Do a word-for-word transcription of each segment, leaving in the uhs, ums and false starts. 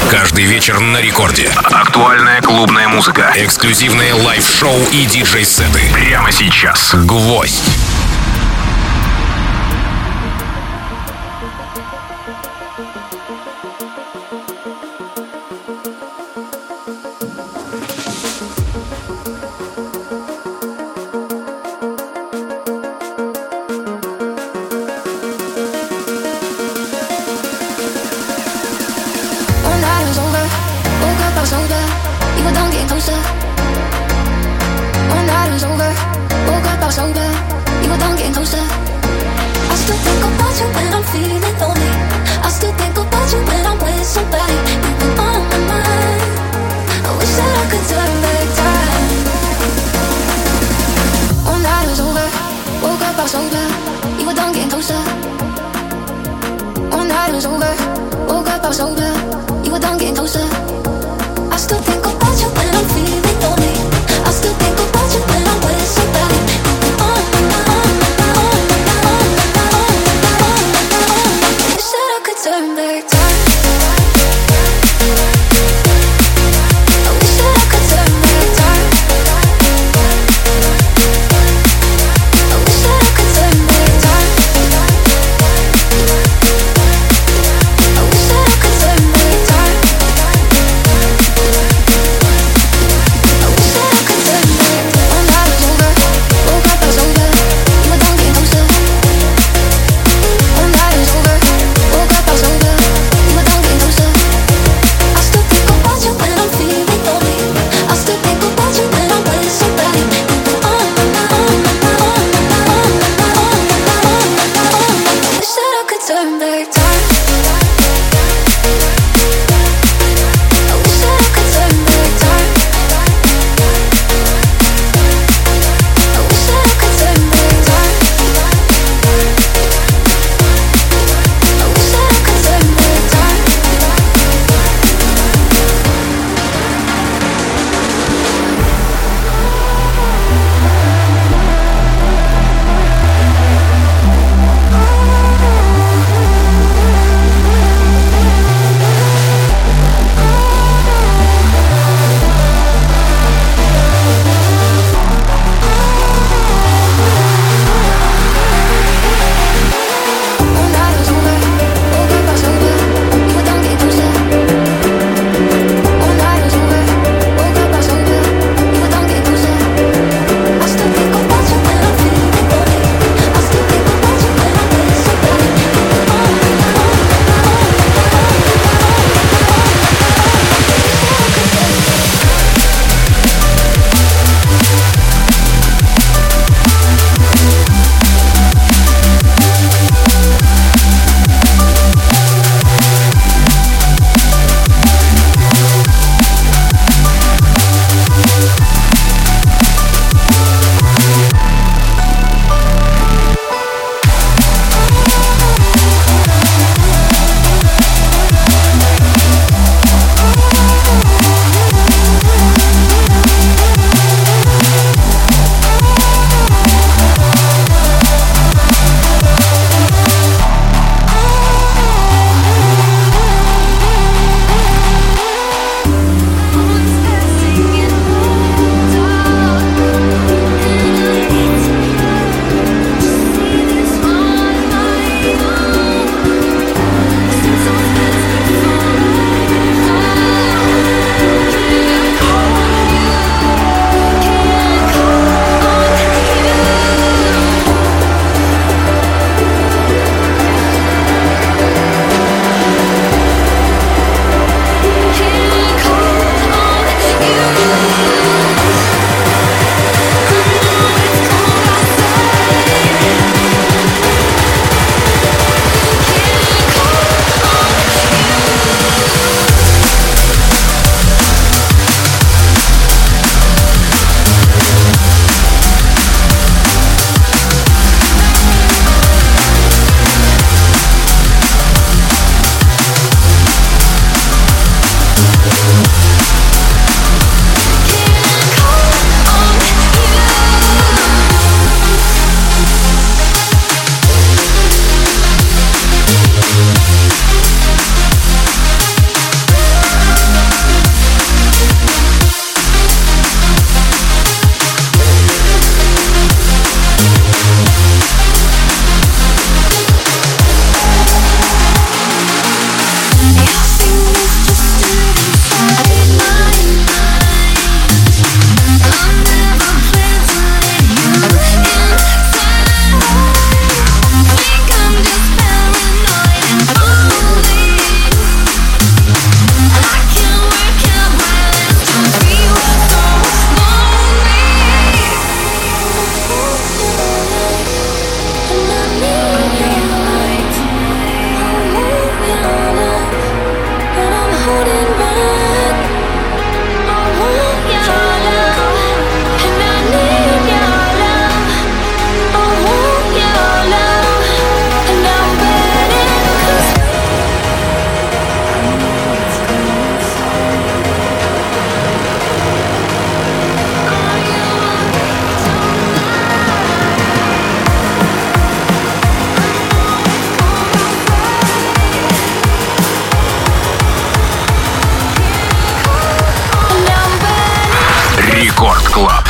Каждый вечер на рекорде. Актуальная клубная музыка, эксклюзивные лайв-шоу и диджей-сеты. Прямо сейчас. Гвоздь.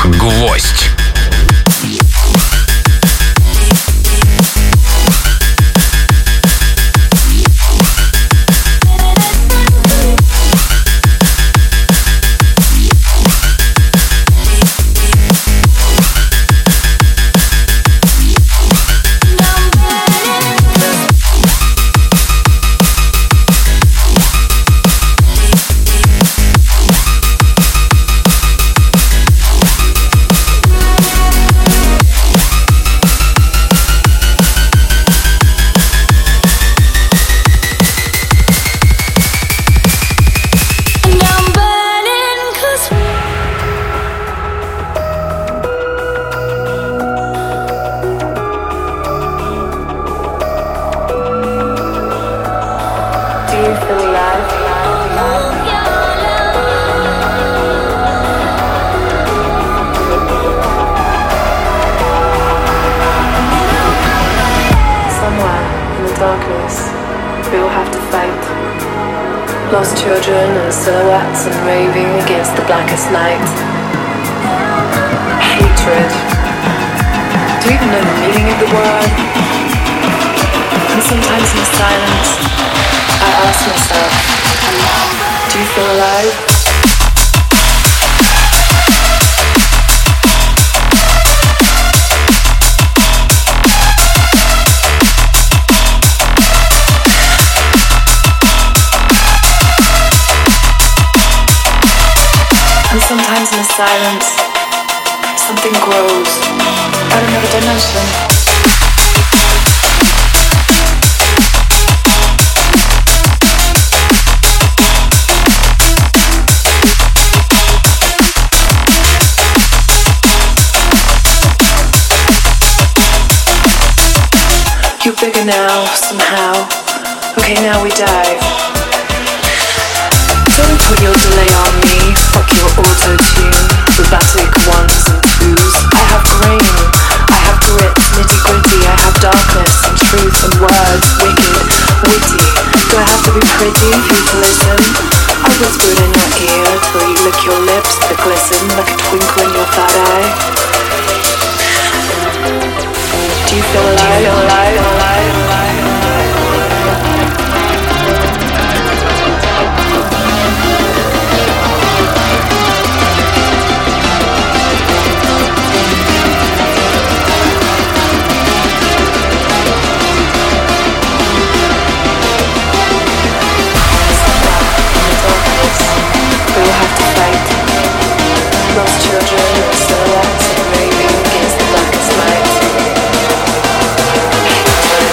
Гвоздь. Lost children and silhouettes and raving against the blackest night. Hatred. Do you even know the meaning of the word? And sometimes in the silence, I ask myself, do you feel alive? And sometimes in the silence, something grows out of another dimension. You're bigger now, somehow. Okay, now we dive. Don't put your delay on me. Fuck your auto-tune, robotic ones and twos. I have grain, I have grit, nitty-gritty. I have darkness and truth and words, wicked, witty. Do I have to be pretty for you to listen? I whisper it in your ear till you lick your lips that glisten like a twinkle in your third eye. Do you feel alive? Do you feel alive? alive, alive? We will have to fight. Lost children and silhouettes and raving against the blackest night.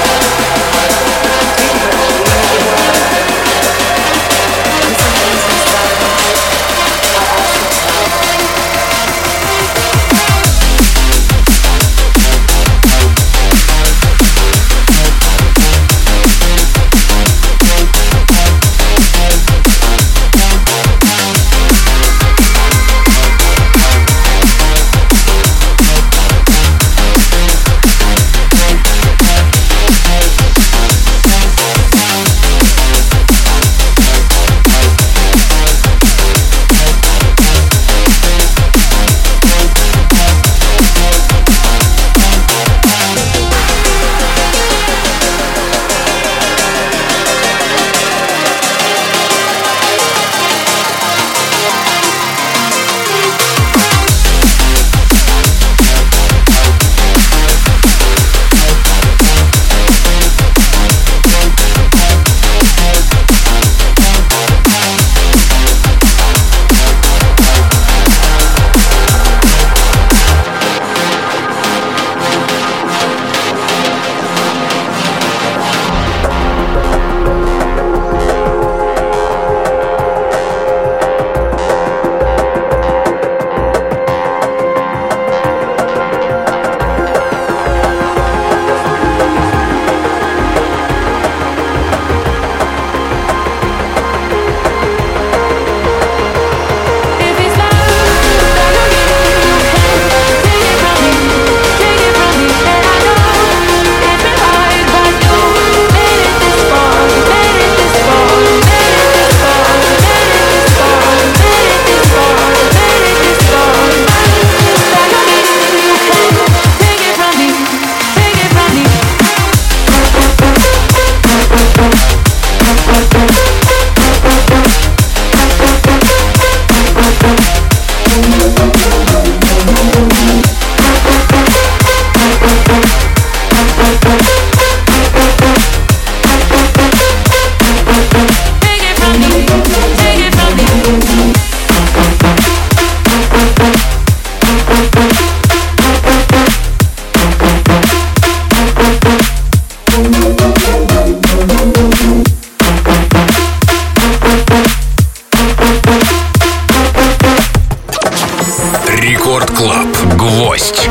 шесть.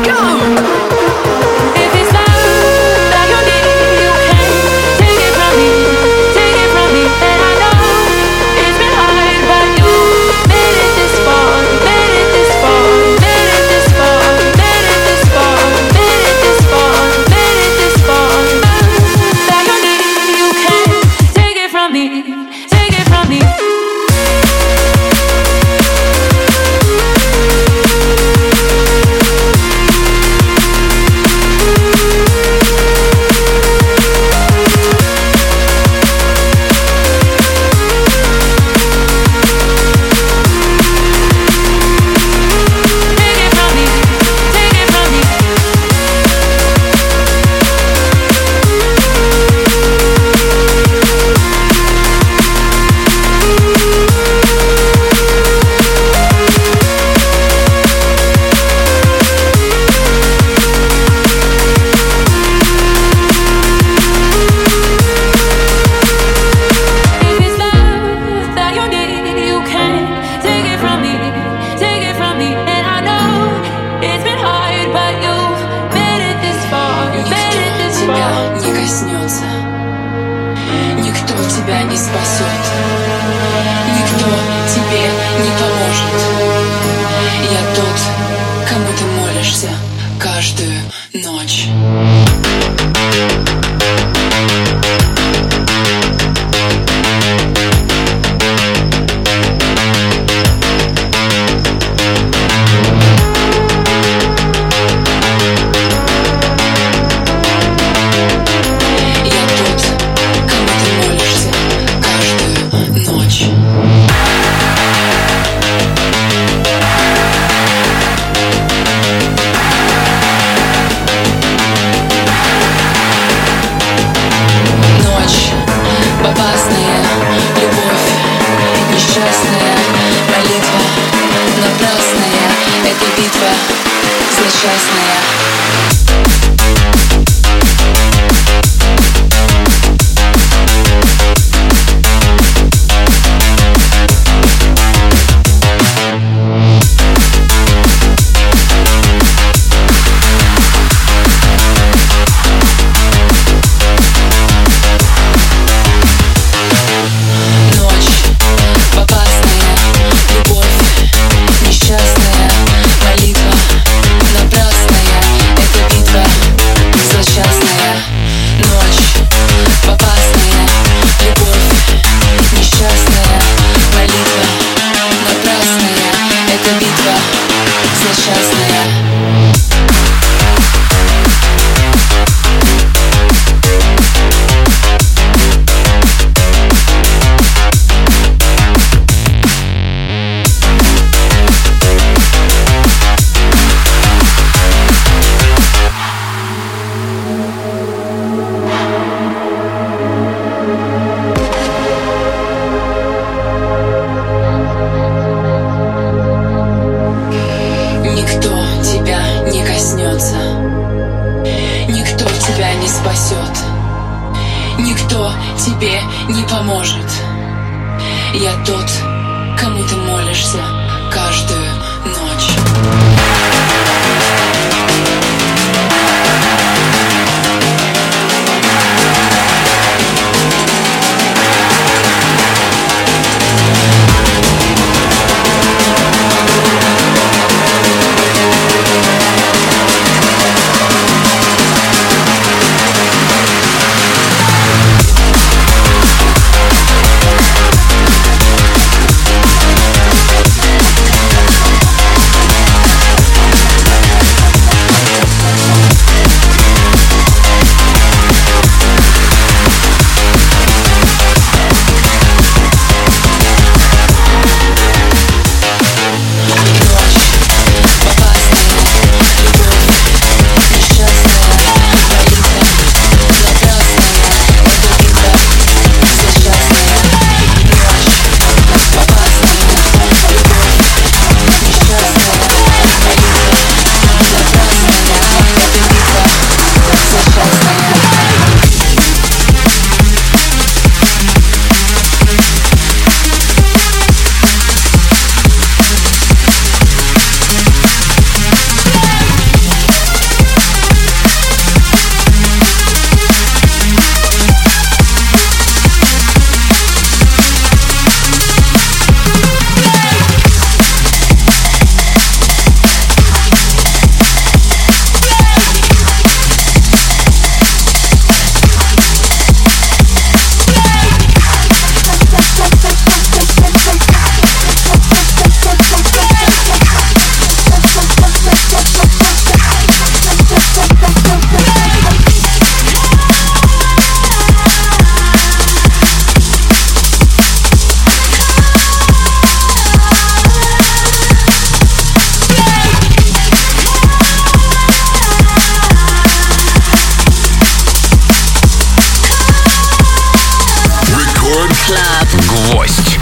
Club. Гвоздь.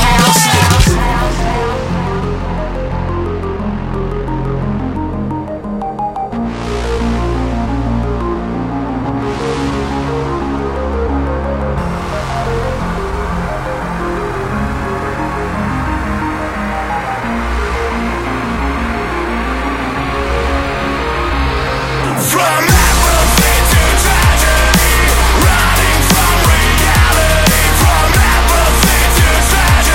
Tragedy, running from reality, from apathy to tragedy.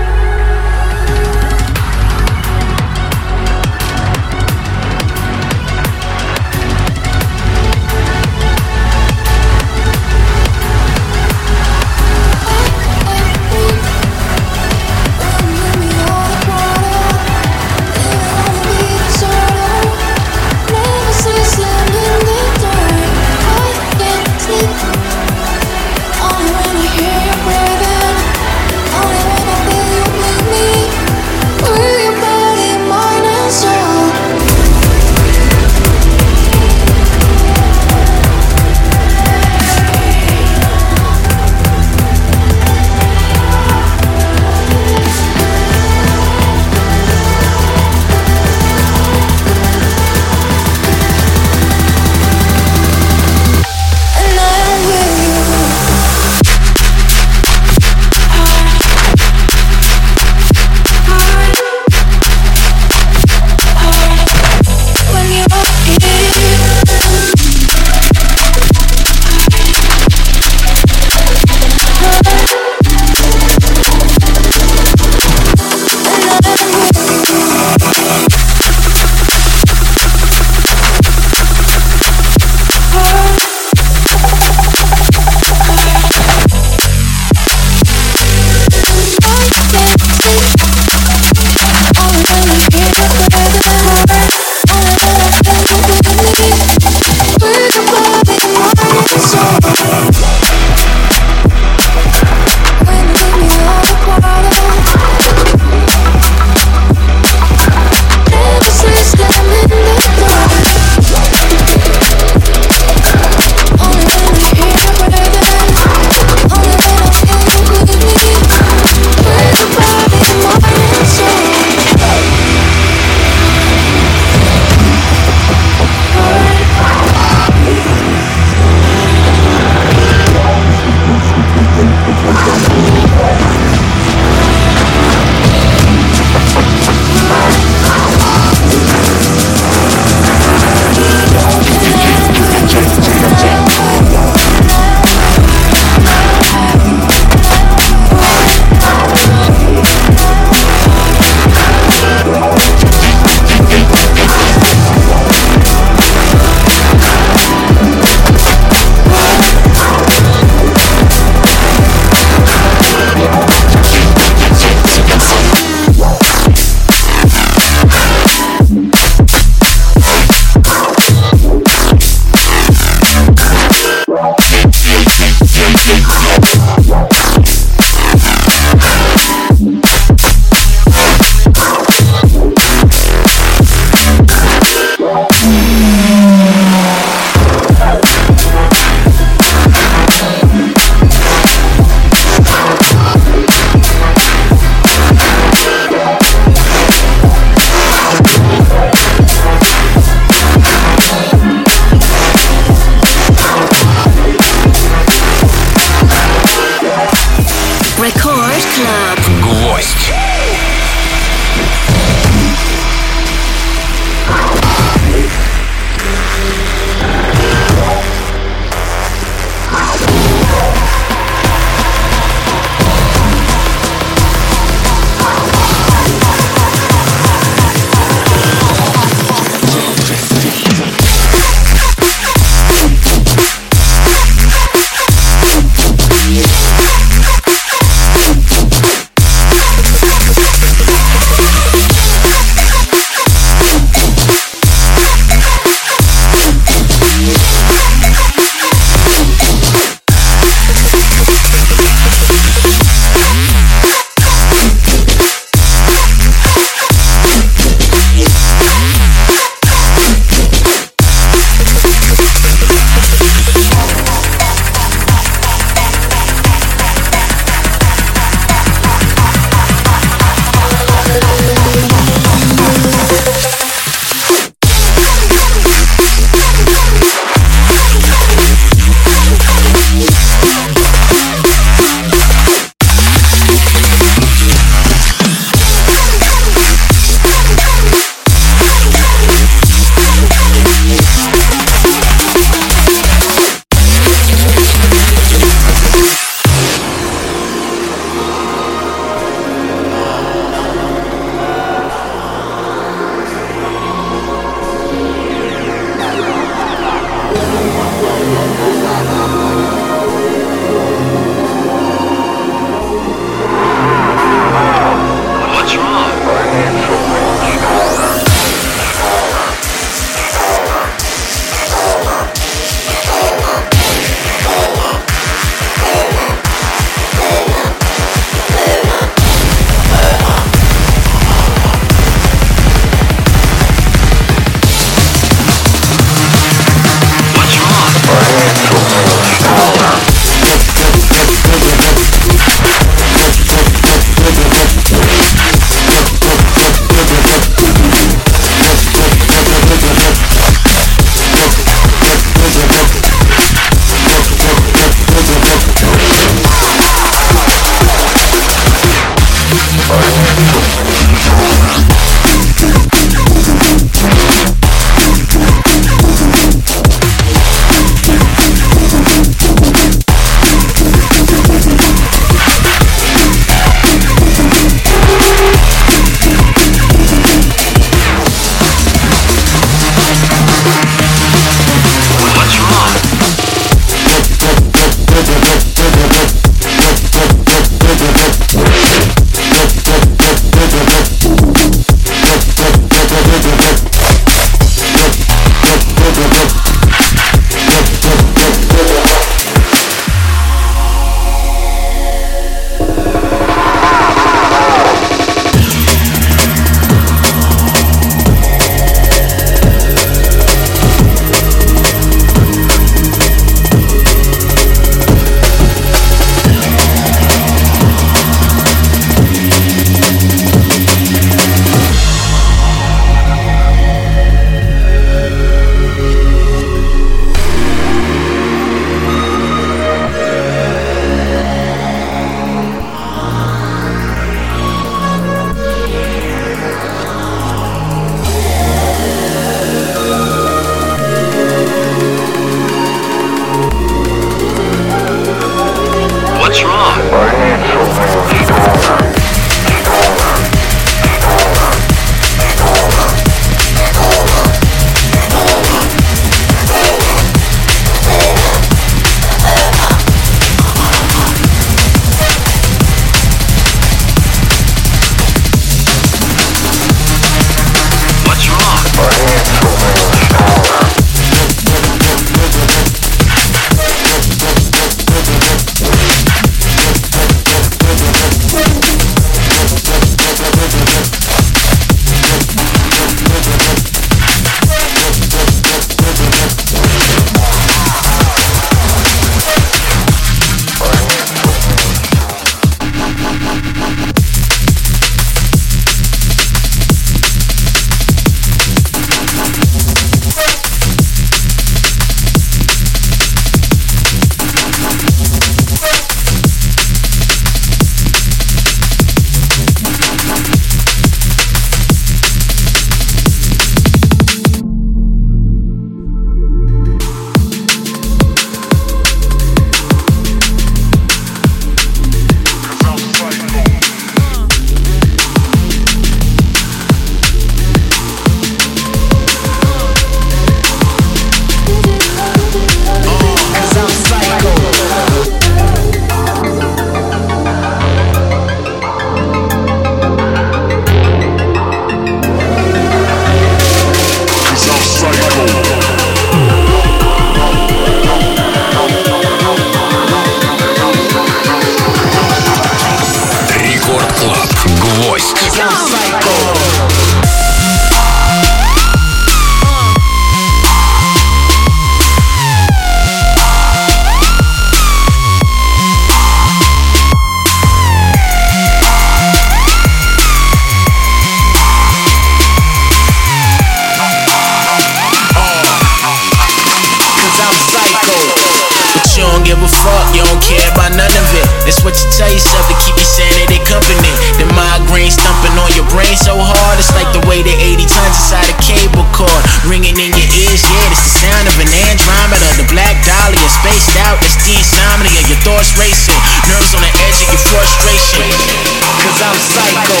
You don't care about none of it. That's what you tell yourself to keep your sanity company. The migraine thumping on your brain so hard, it's like the way the eighty tons inside a cable cord ringing in your ears. Yeah, it's the sound of an Andromeda, the black dahlia spaced out. It's the insomnia, your thoughts racing, nerves on the edge of your frustration. Cause I'm psycho.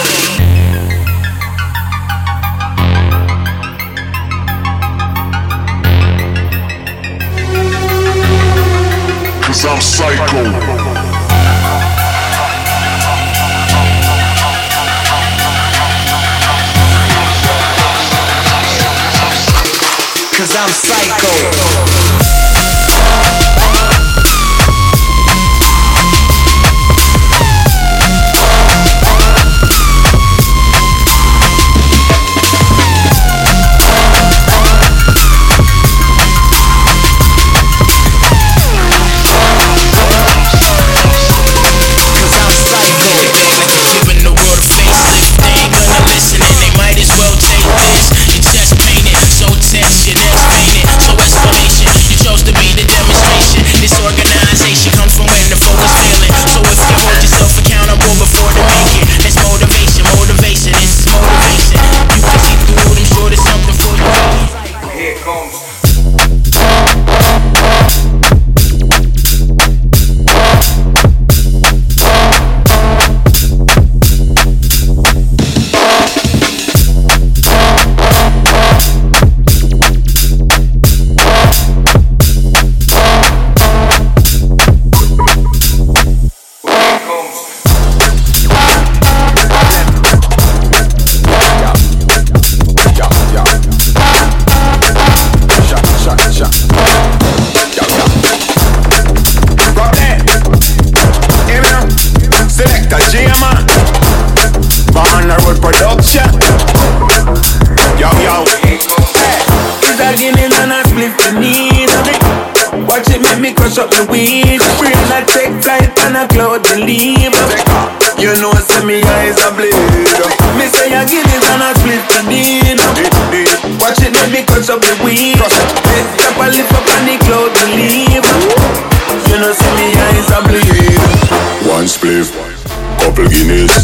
Cause I'm psycho. Cause I'm psycho. Up the weed, free and I take flight and I cloud the leave. You know, see me eyes are bleed. Me say I give it and I split the deal. Watch it, let me cut up the weed. Tap a lift up and the cloud the leave. You know, see me eyes are bleed. One spliff, couple Guinness.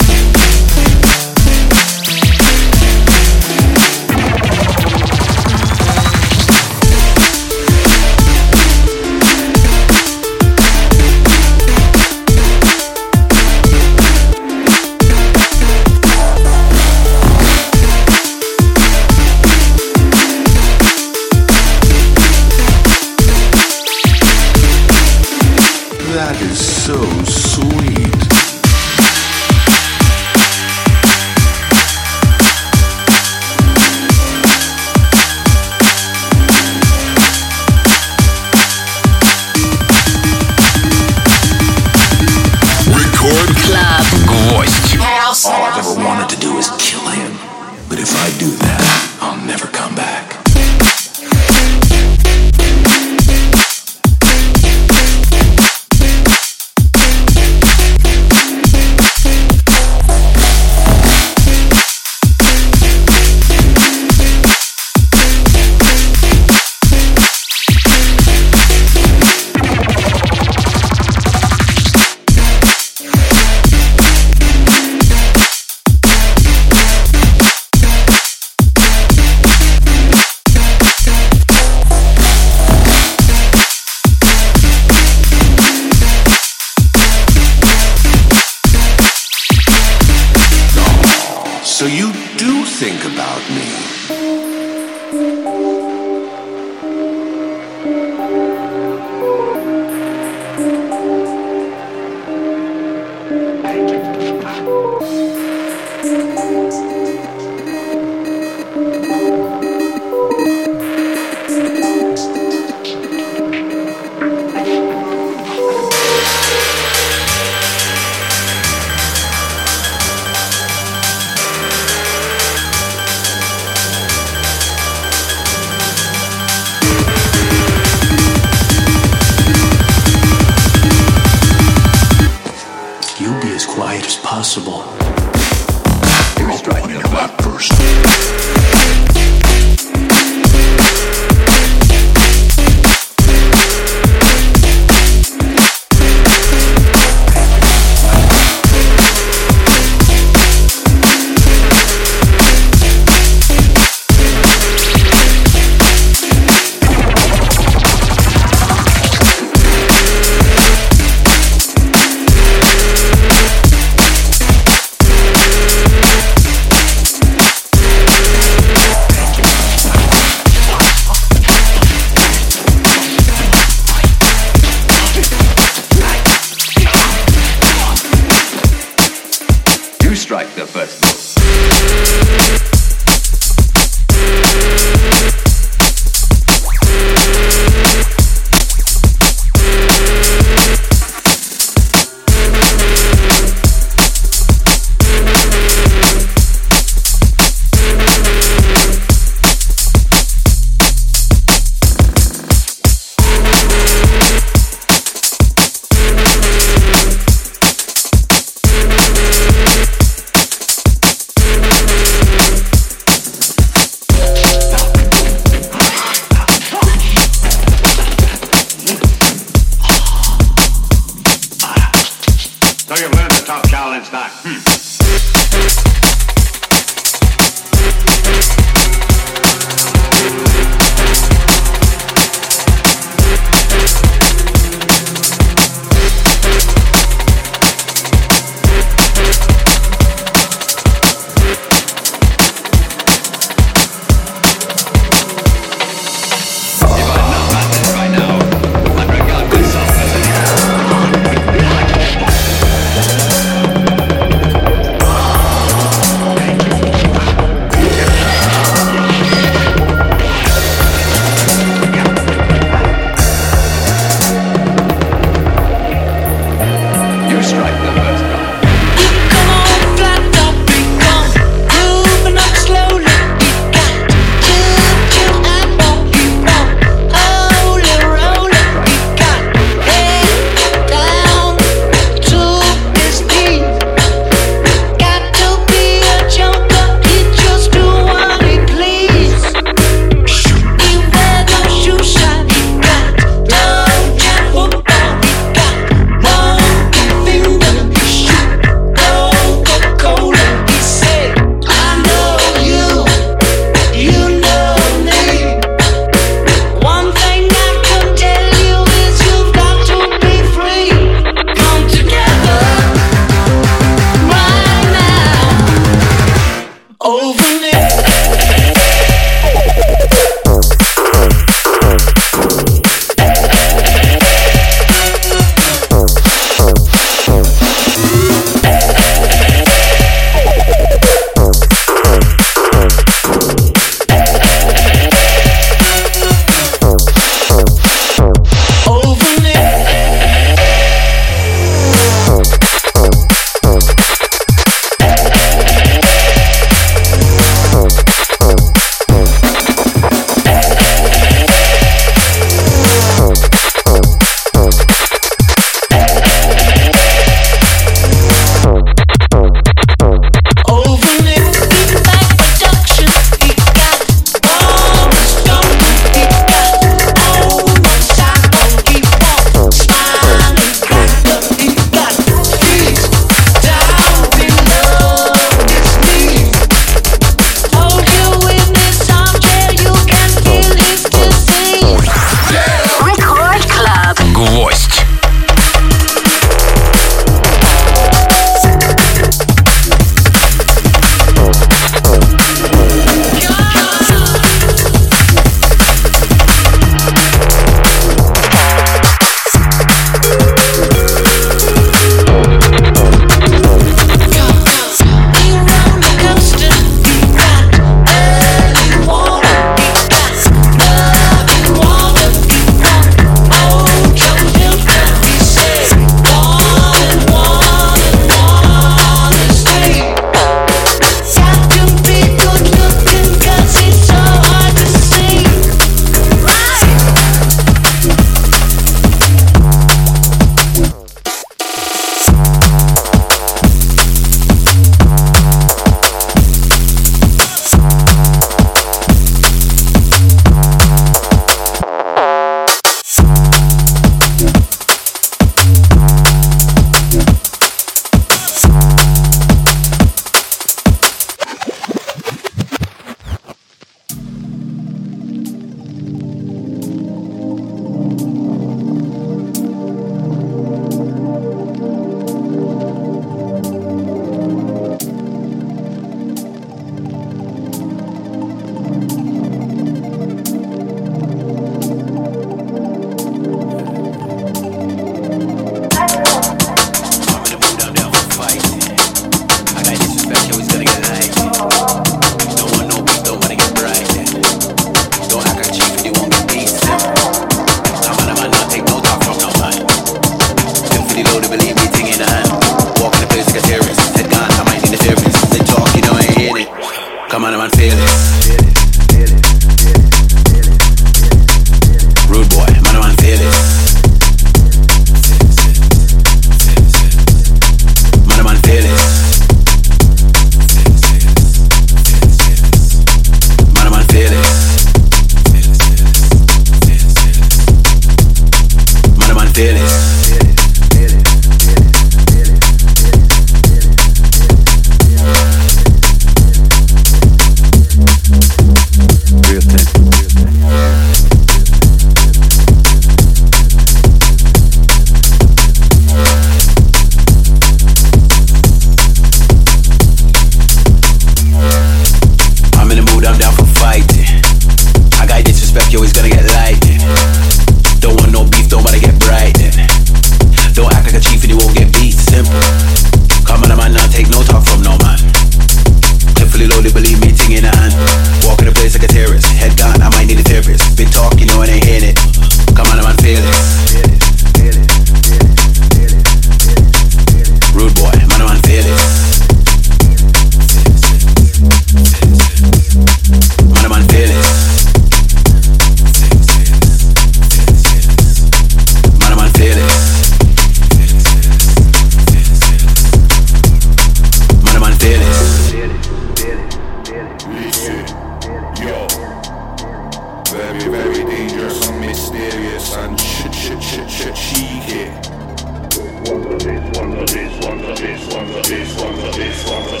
very, very dangerous and mysterious and shit, shit, shit, shit, cheeky. One of these, one of these, one of these, one of these, one of these, one of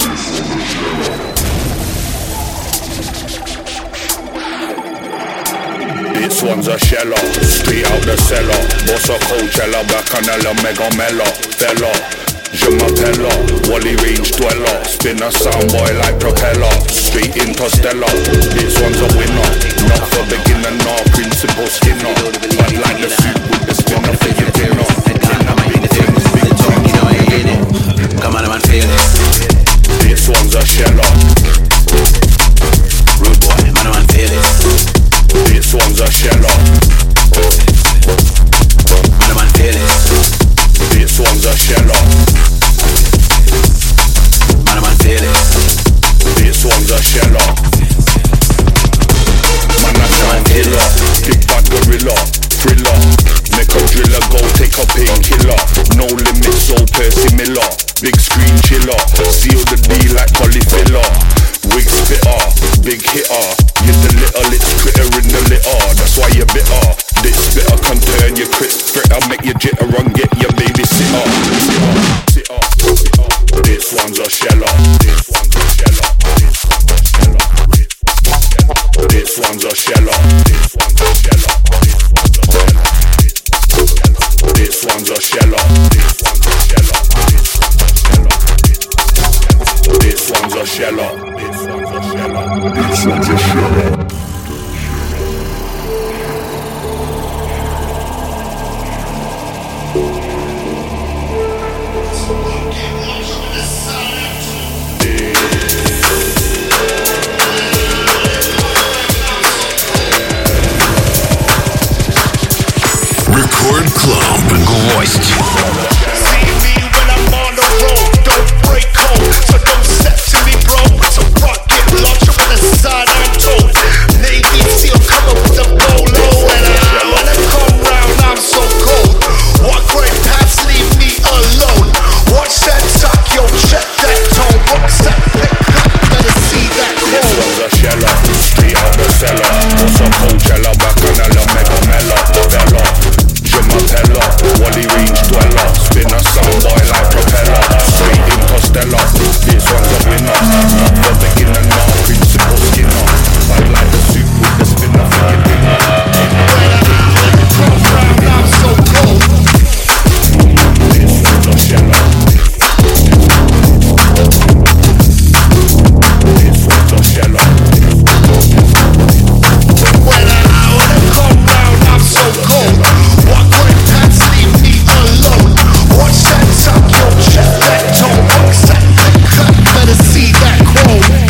these. This one's a sheller, straight out the cellar. Boss a Coachella, Bacchanal, Mega Mella, fella. Je m'appelle Wally Range Dweller. Spin a soundboy like propeller. Straight Interstellar. This one's a winner. Not for beginner, nor principal skinner. But like the soup with the spinner for your dinner. Come on, man, feel it. This one's a sheller. Rude boy, man, man, feel it. This one's a sheller. Man, man, feel it. This one's a sheller. Man, man, feel it. This one's a sheller. Man, a sound killer. Big bad gorilla. Thriller. Make a driller go take a painkiller. No limits, so Percy Miller. Big screen chiller. Seal the deal like polyfiller. Wig spitter. Big hitter. You're the little it's critter in the litter. That's why you're bitter. This spitter can turn your crit fritter. Make you jitter and get your baby sitter. Sitter, sitter. This one's a sheller. This one's a sheller. This one's a sheller. This one's a sheller. This one's a sheller. This one's a sheller. This one's a sheller. This one's a sheller. This one's a sheller. Record Club. Гвоздь. See me when I'm on the road, don't break code, so don't step to me, bro. It's a rocket launcher with a side I'm told. Navy SEAL come up with a bolo, and I, when I come round, I'm so cold. Walk right past, leave me alone. Watch that talk, yo, check that tone. What's that pick up? Better see that This code. one's a sheller, straight out the cellar. What's a Coachella, Bacchanal, Mega Mella, fella. Je m'appelle Wally Range Dweller. Spin a soundboy like propeller. Straight Interstellar. This one's a winner. Not for beginner, nor principal skinner. But like the soup with the spinner for your dinner. Come round, I'm so cold. This one's a sheller. This one's a sheller. When I, when I come round, I'm so cold. Walk right past, leave me alone. Watch that talk, yo, check that tone. What's that cut? Better see that chrome.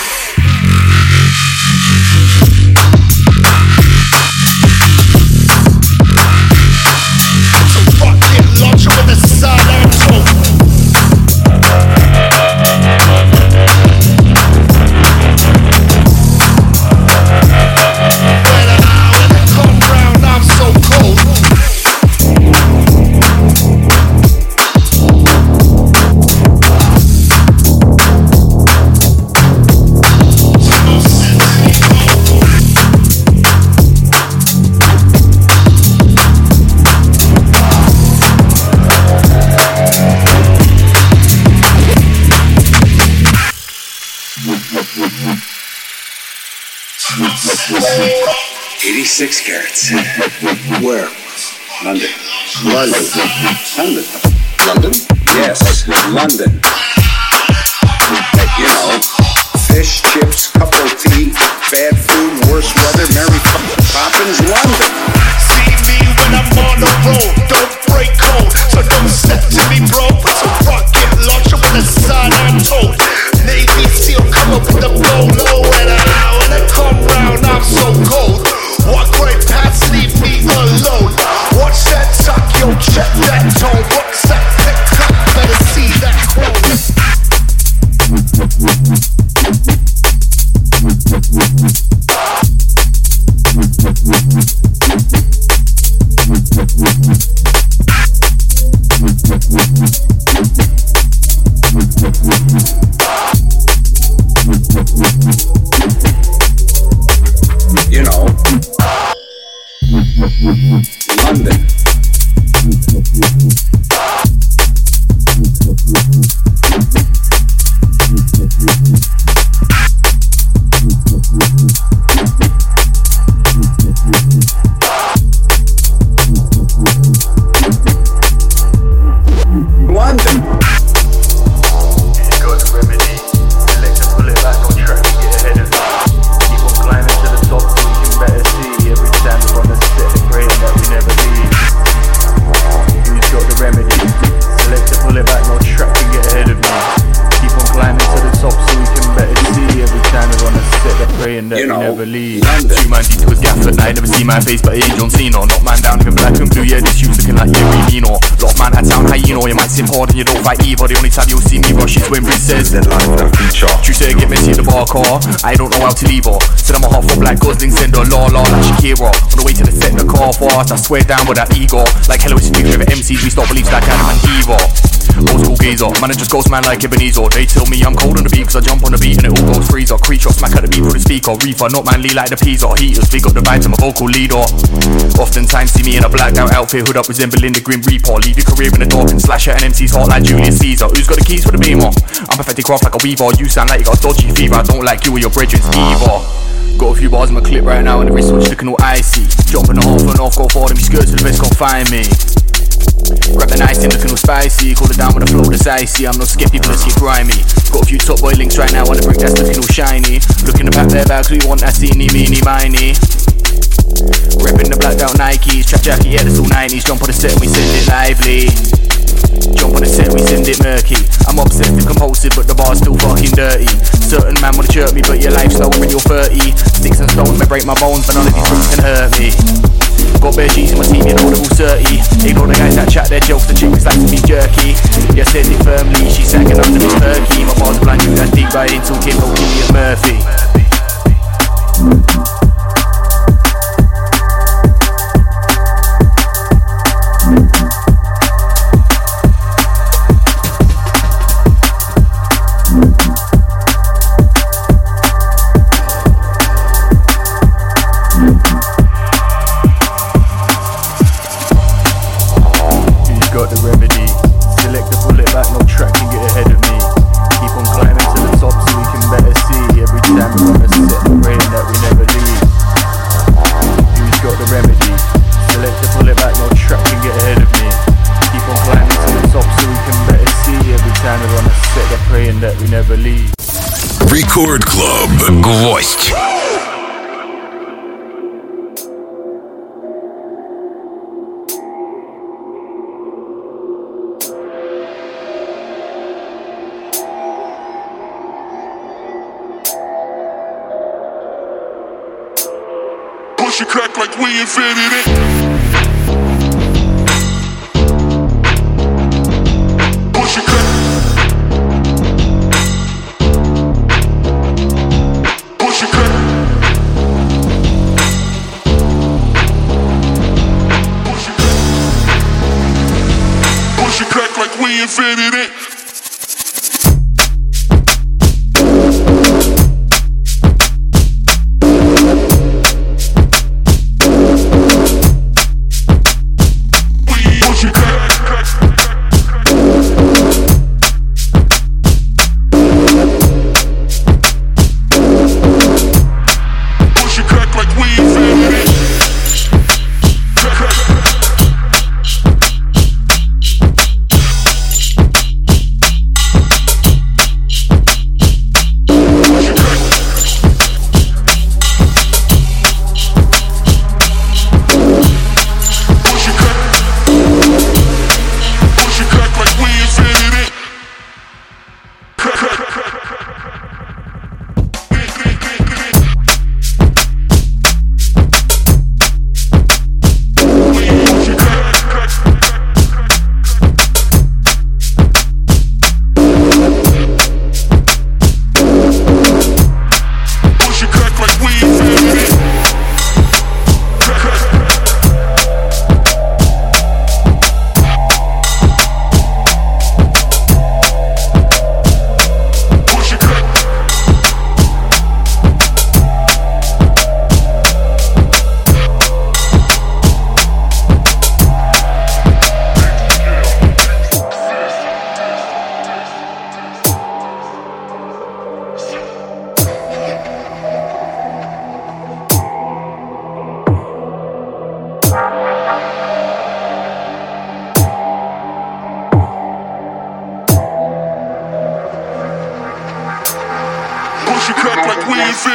It's a rocket launcher with a sidearm tone. When I, when I come round, I'm so cold. eighty-six carats. Where? London. London. London. London? Yes, London. You know, fish, chips, cup of tea, bad food, worse weather, Mary Poppins, London. See me when I'm on the road, don't break code, so don't step to me, bro. It's a rocket launcher with a sidearm told. Navy SEAL come up with a bolo, and I, when I come round, I'm so cold. Walk right past, leave me alone. Watch that talk, yo, check that tone. What's that pick up? Better see that quote. London. My face, but it ain't John Cena. Knock man down, even black and blue. Yeah, this you's looking like yeah, really no. Lot of man had sound hyena. You might seem hard and you don't fight either. The only time you'll see me rush is when Riz says that life that feature. True say get messy in the bar car. I don't know how to leave her. Said I'm a half for black Gosling, send her la la like Shakira. On the way to the set, the car fast. I swear down with that ego. Like hello, it's the future of M Cs. We start beliefs like Adam and Eva. Old school geezer, man, it just goes man like Ebenezer. They tell me I'm cold on the beat cause I jump on the beat and it all goes freezer. Creature, smack at the beat through the speaker. Reefer, not manly like the Pisa. Heaters, big up the vibe to my vocal leader. Oftentimes see me in a blacked out outfit, hood up resembling the Grim Reaper. Leave your career in the dark and slash at an M C's heart like Julius Caesar. Who's got the keys for the Beamer? I'm perfectly craft like a weaver. You sound like you got dodgy fever. I don't like you or your brethrens either. Got a few bars in my clip right now and the wristwatch looking all icy. Jumping the half and off, go forward and me skirts to the best, can't find me. Grab the nice thing looking all spicy. Call it down with a flow that's icy. I'm not scared, people let's get grimy. Got a few top boy links right now on the brick that's looking all shiny. Looking to pack their bags, we want that teeny, meeny, miny. Reppin' the blacked out Nikes, trap jacket, yeah that's all nineties. Jump on the set and we send it lively. Jump on the set, we send it murky. I'm obsessed and compulsive, but the bar's still fucking dirty. Certain man wanna chirp me, but your life's slower when you're thirty. Sticks and stones may break my bones, but none of these roots can hurt me. Got bare G's in my team, you know they're all thirty. Ignore the guys that chat their jokes, the chicks like to be jerky. Yeah, says it firmly, she's sagging under me perky. My bars blind you, that's deep right into Kim, don't give me a Murphy. Рекорд Клаб. Гвоздь. Push it crack like we invented it. Push it crack. Push it crack. Push it crack. Push it crack like we invented it.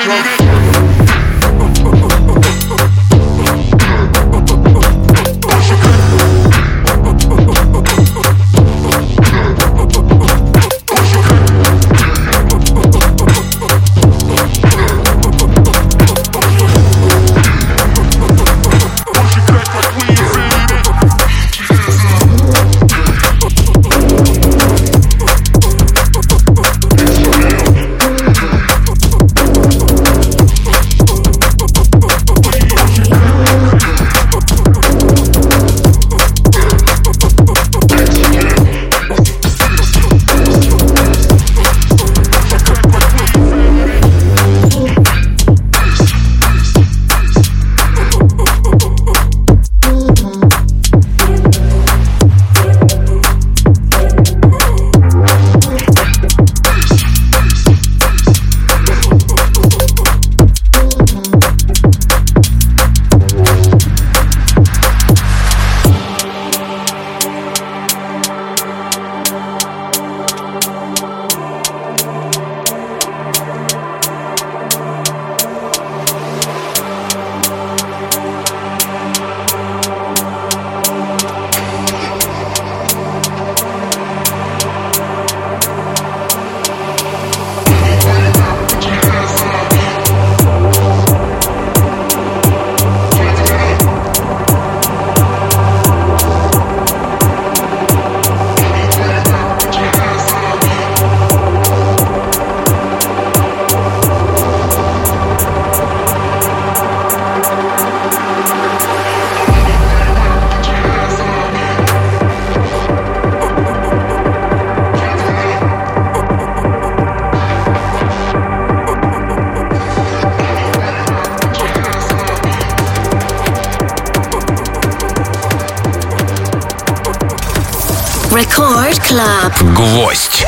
Record Club. Гвоздь.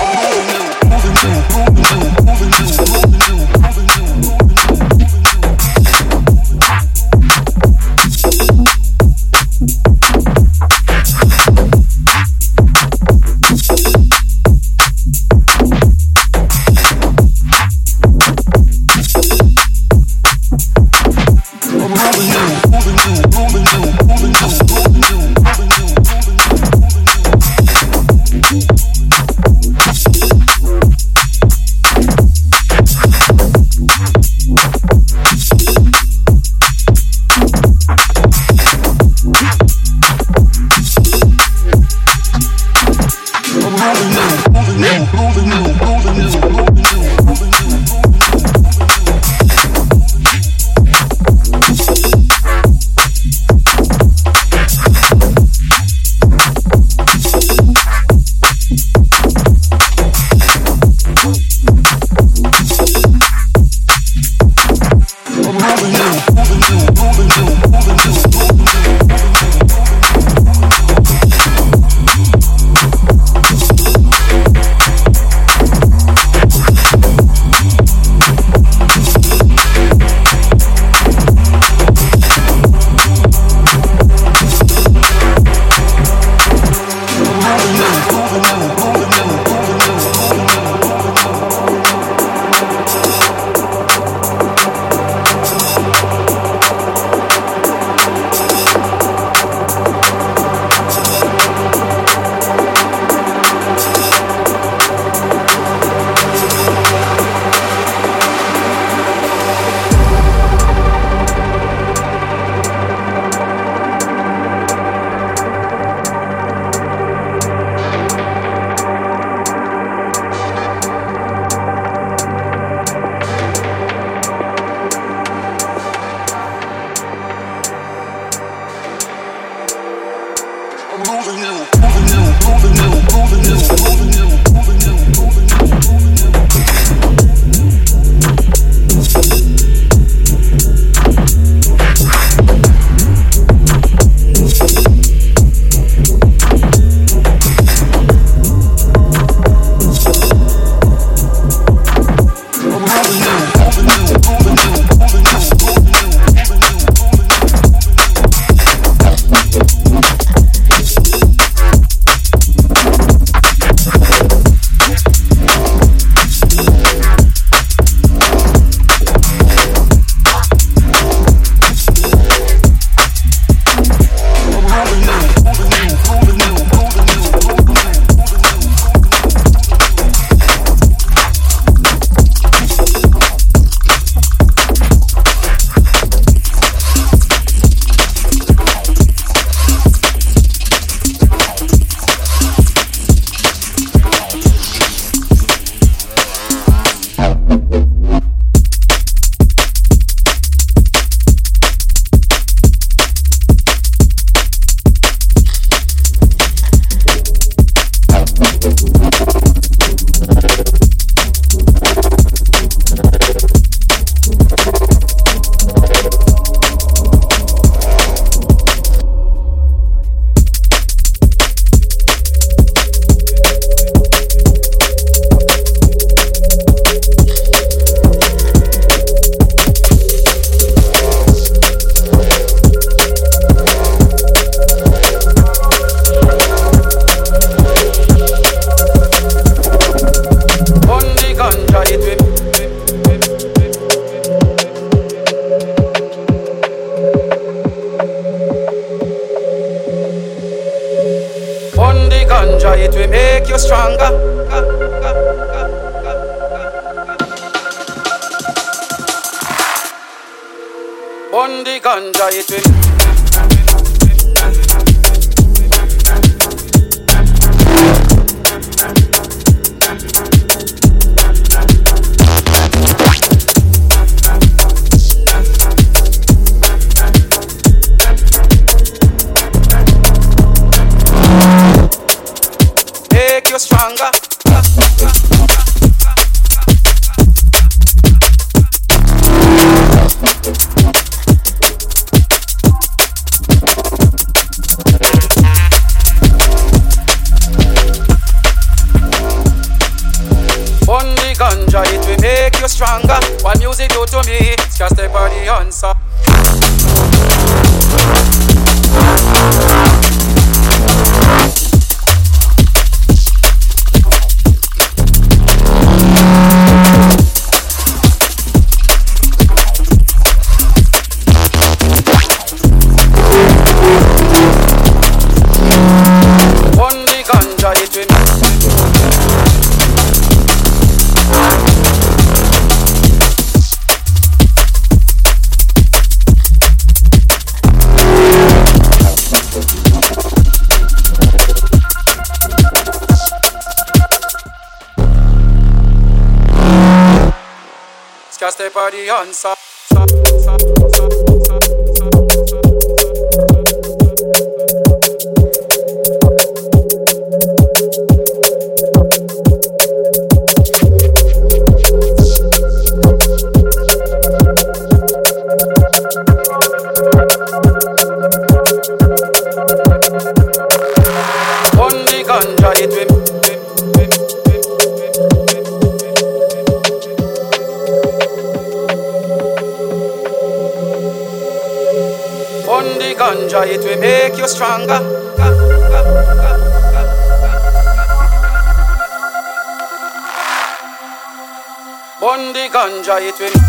ganja, it will make you stronger. Burn the ganja, it will. Make you stronger. Burn the ganja, it will make you stronger. What music do to me, it's just a body answer. Just a body answer. On the ganja, it will. On the ganja, it will make you stronger. On the ganja, it will.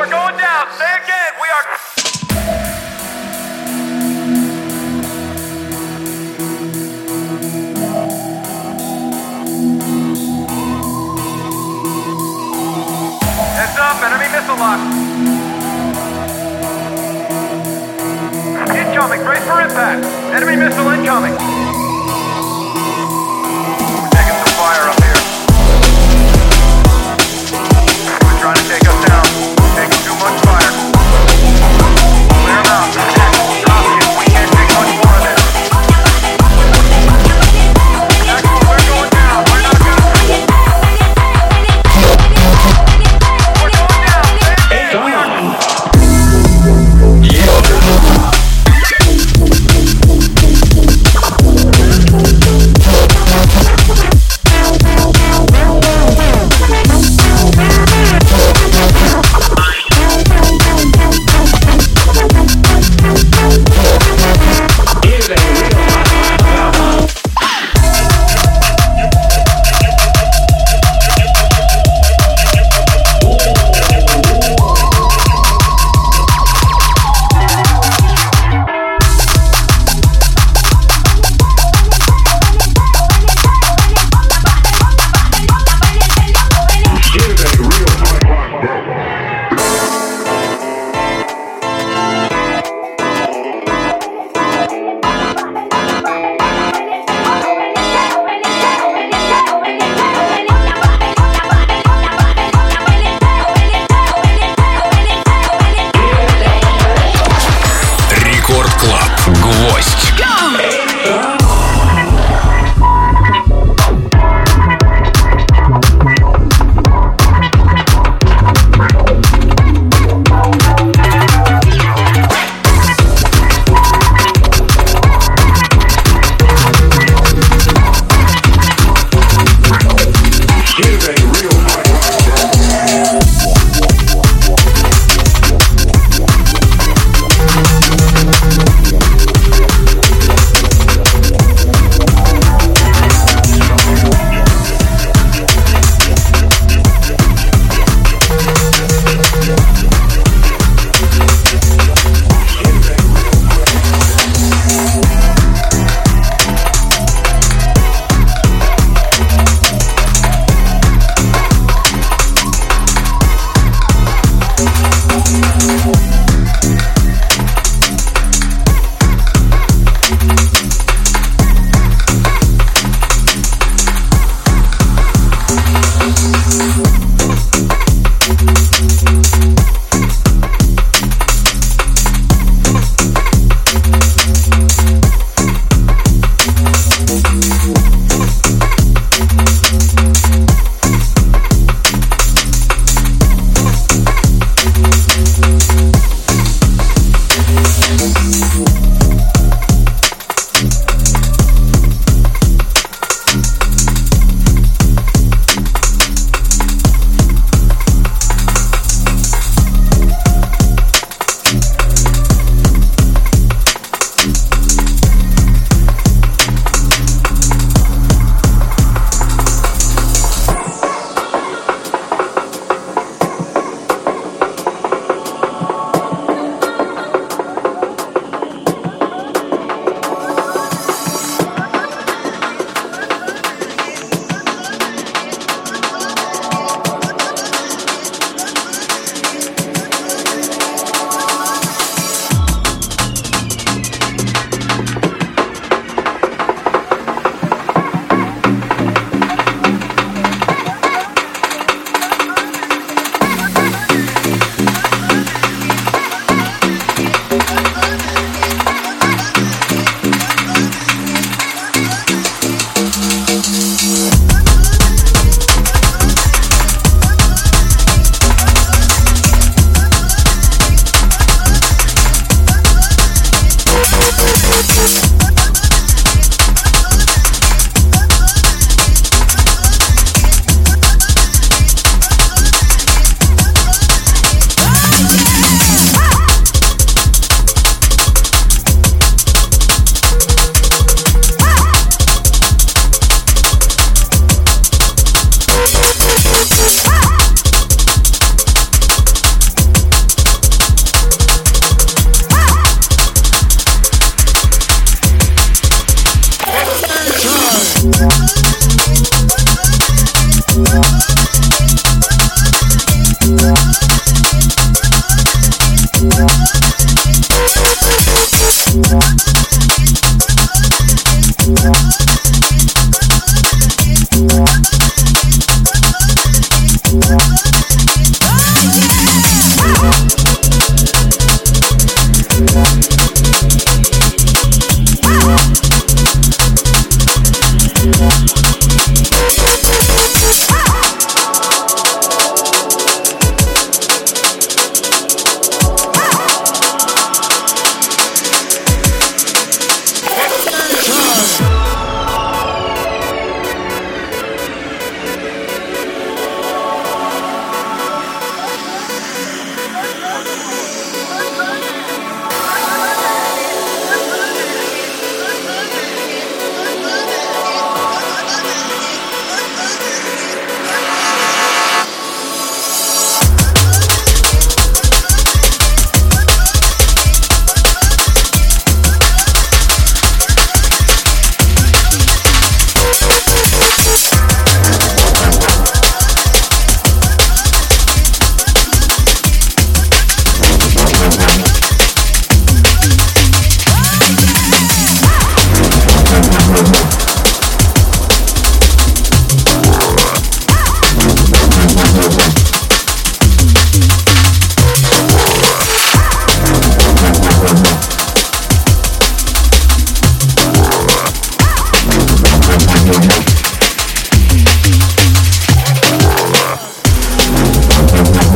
we're going down. Say again. We are. Heads up, enemy missile lock. Incoming, brace for impact. Enemy missile incoming. We're taking some fire up here. We're trying to take us down. Taking too much fire. Clear them out. Drop it. We can't take much more of this. Actually, we're going down. We're not gonna. We're going down. Hey, we are.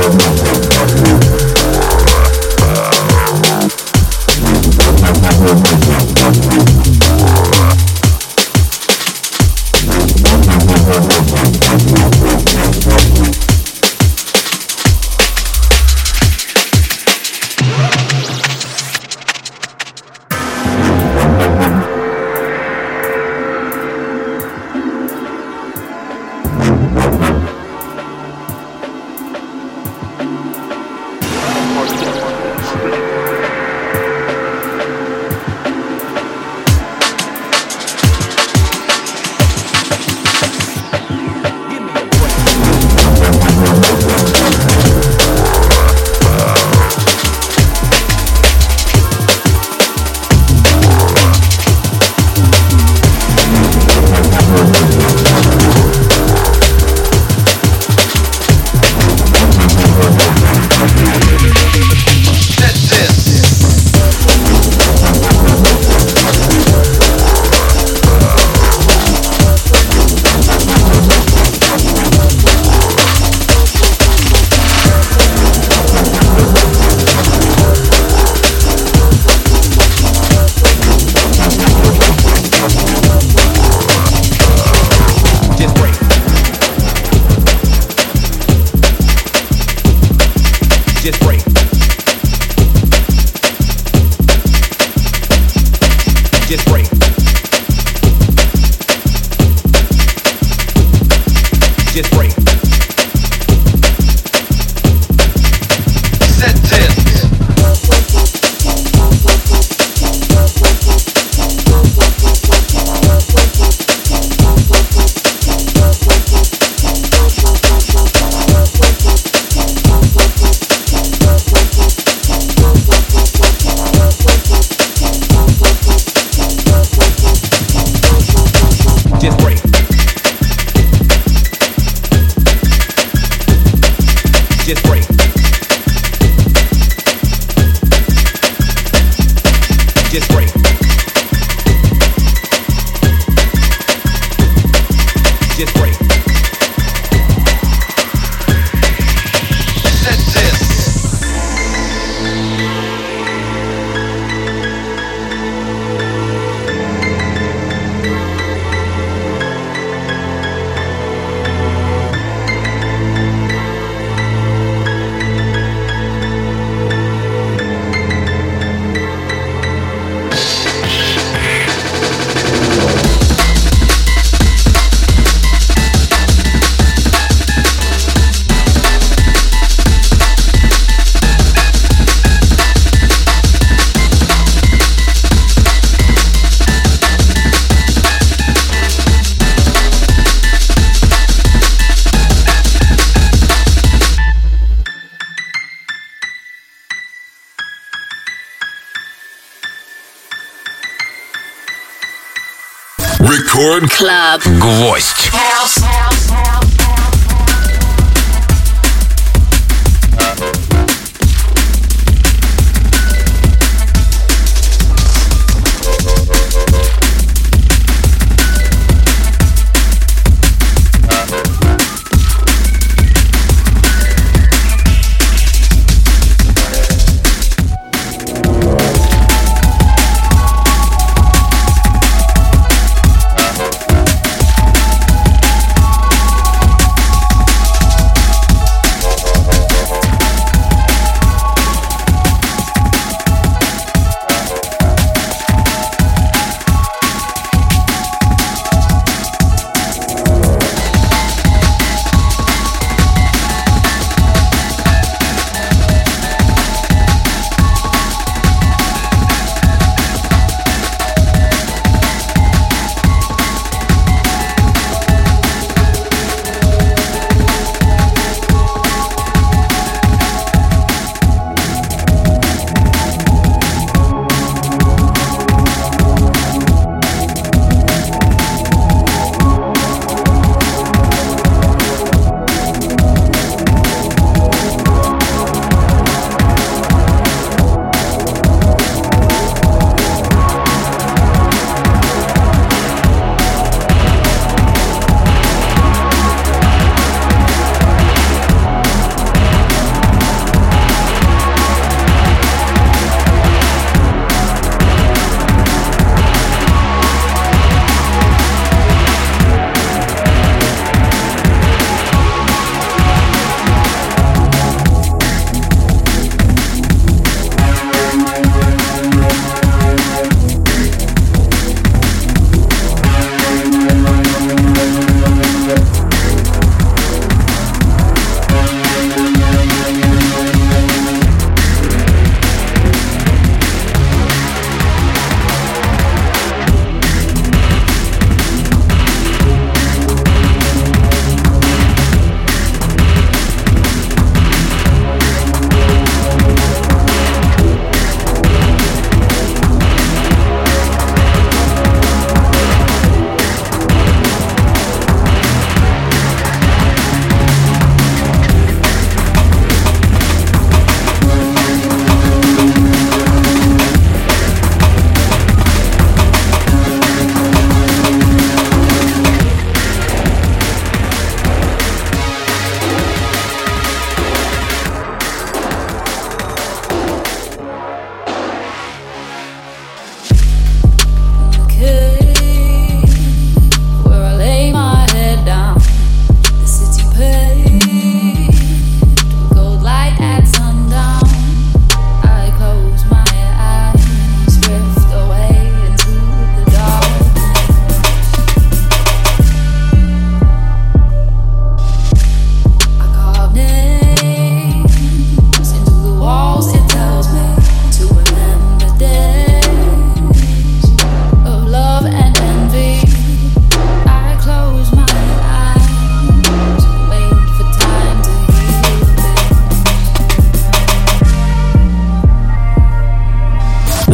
Рекорд Клаб. Гвоздь.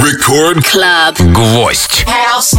Record Club. Гвоздь. House.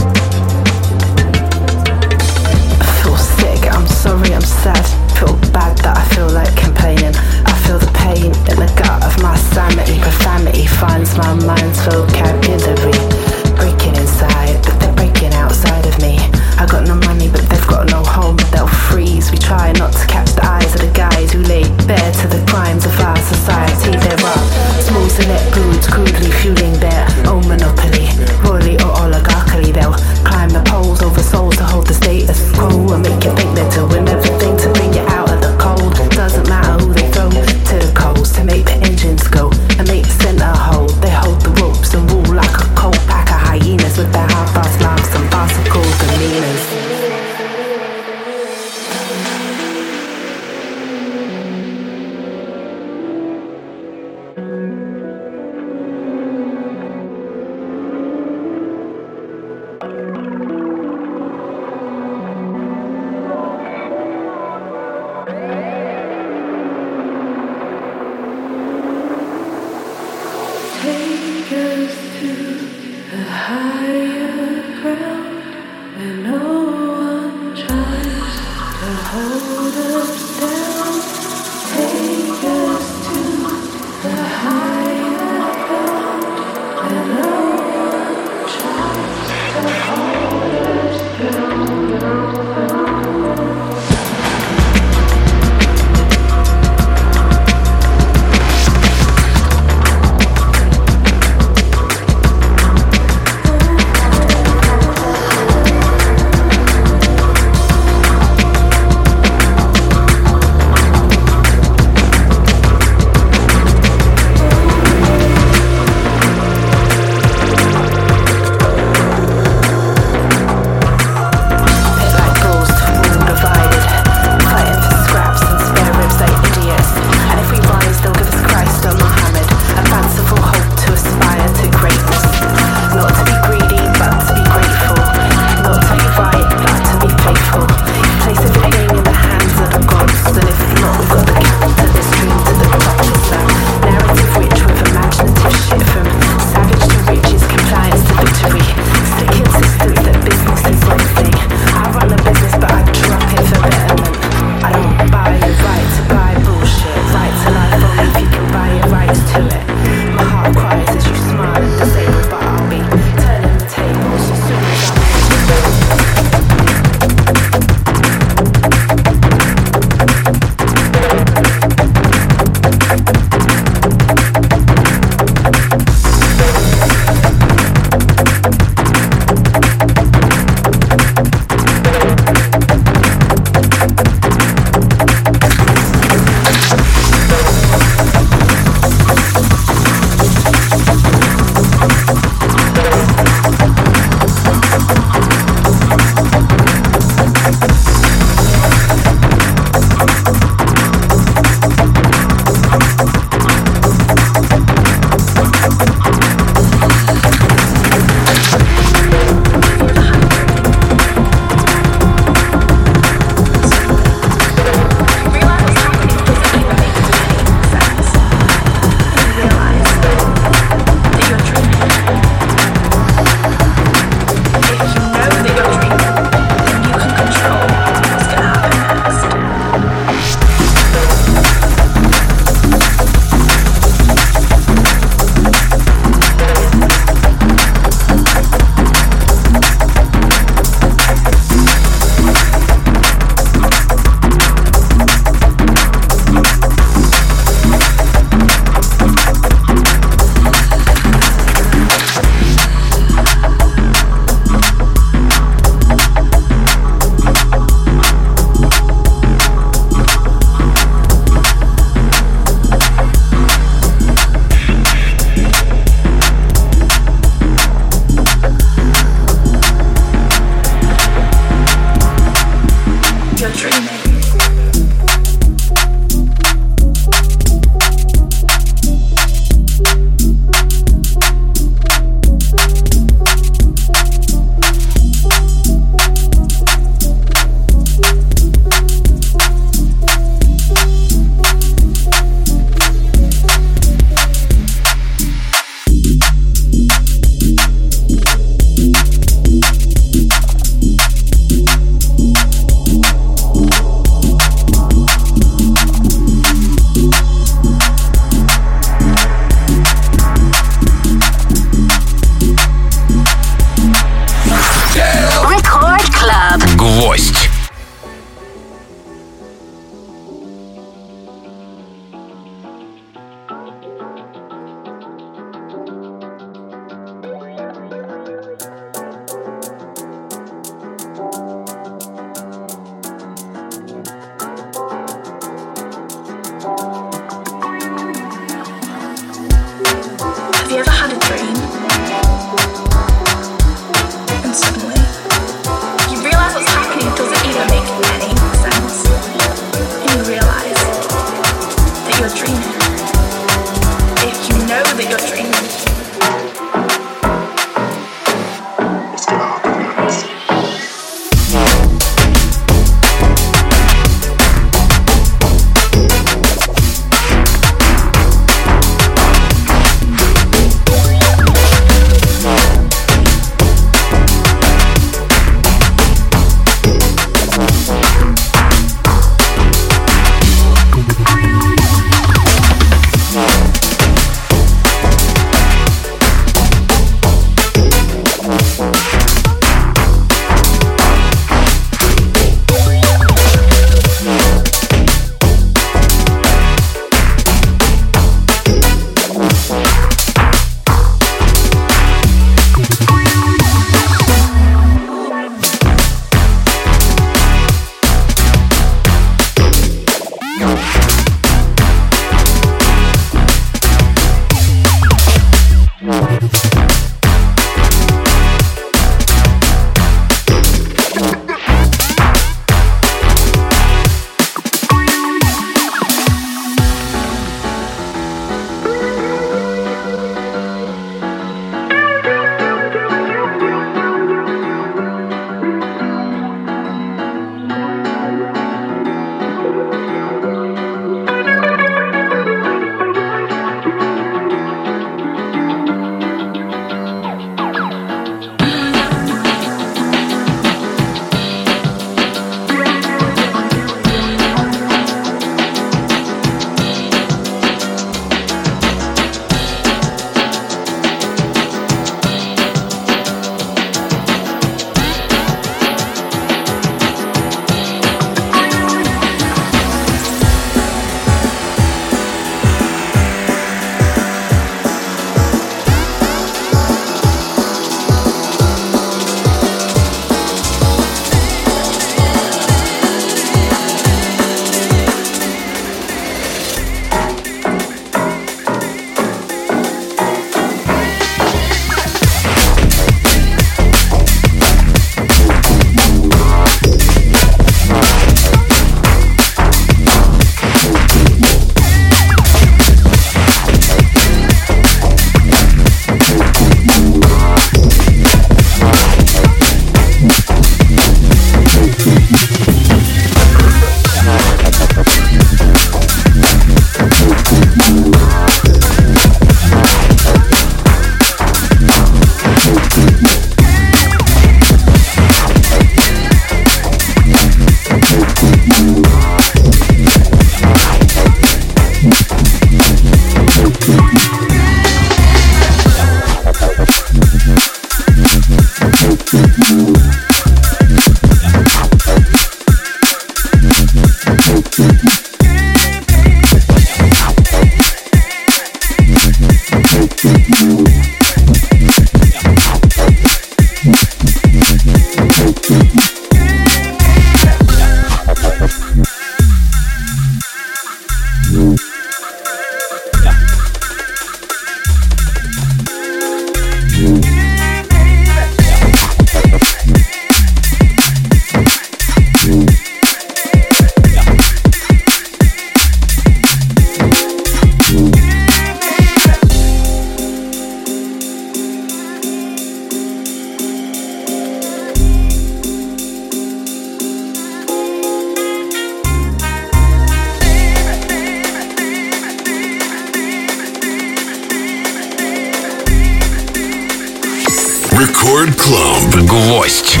Record Club. Гвоздь.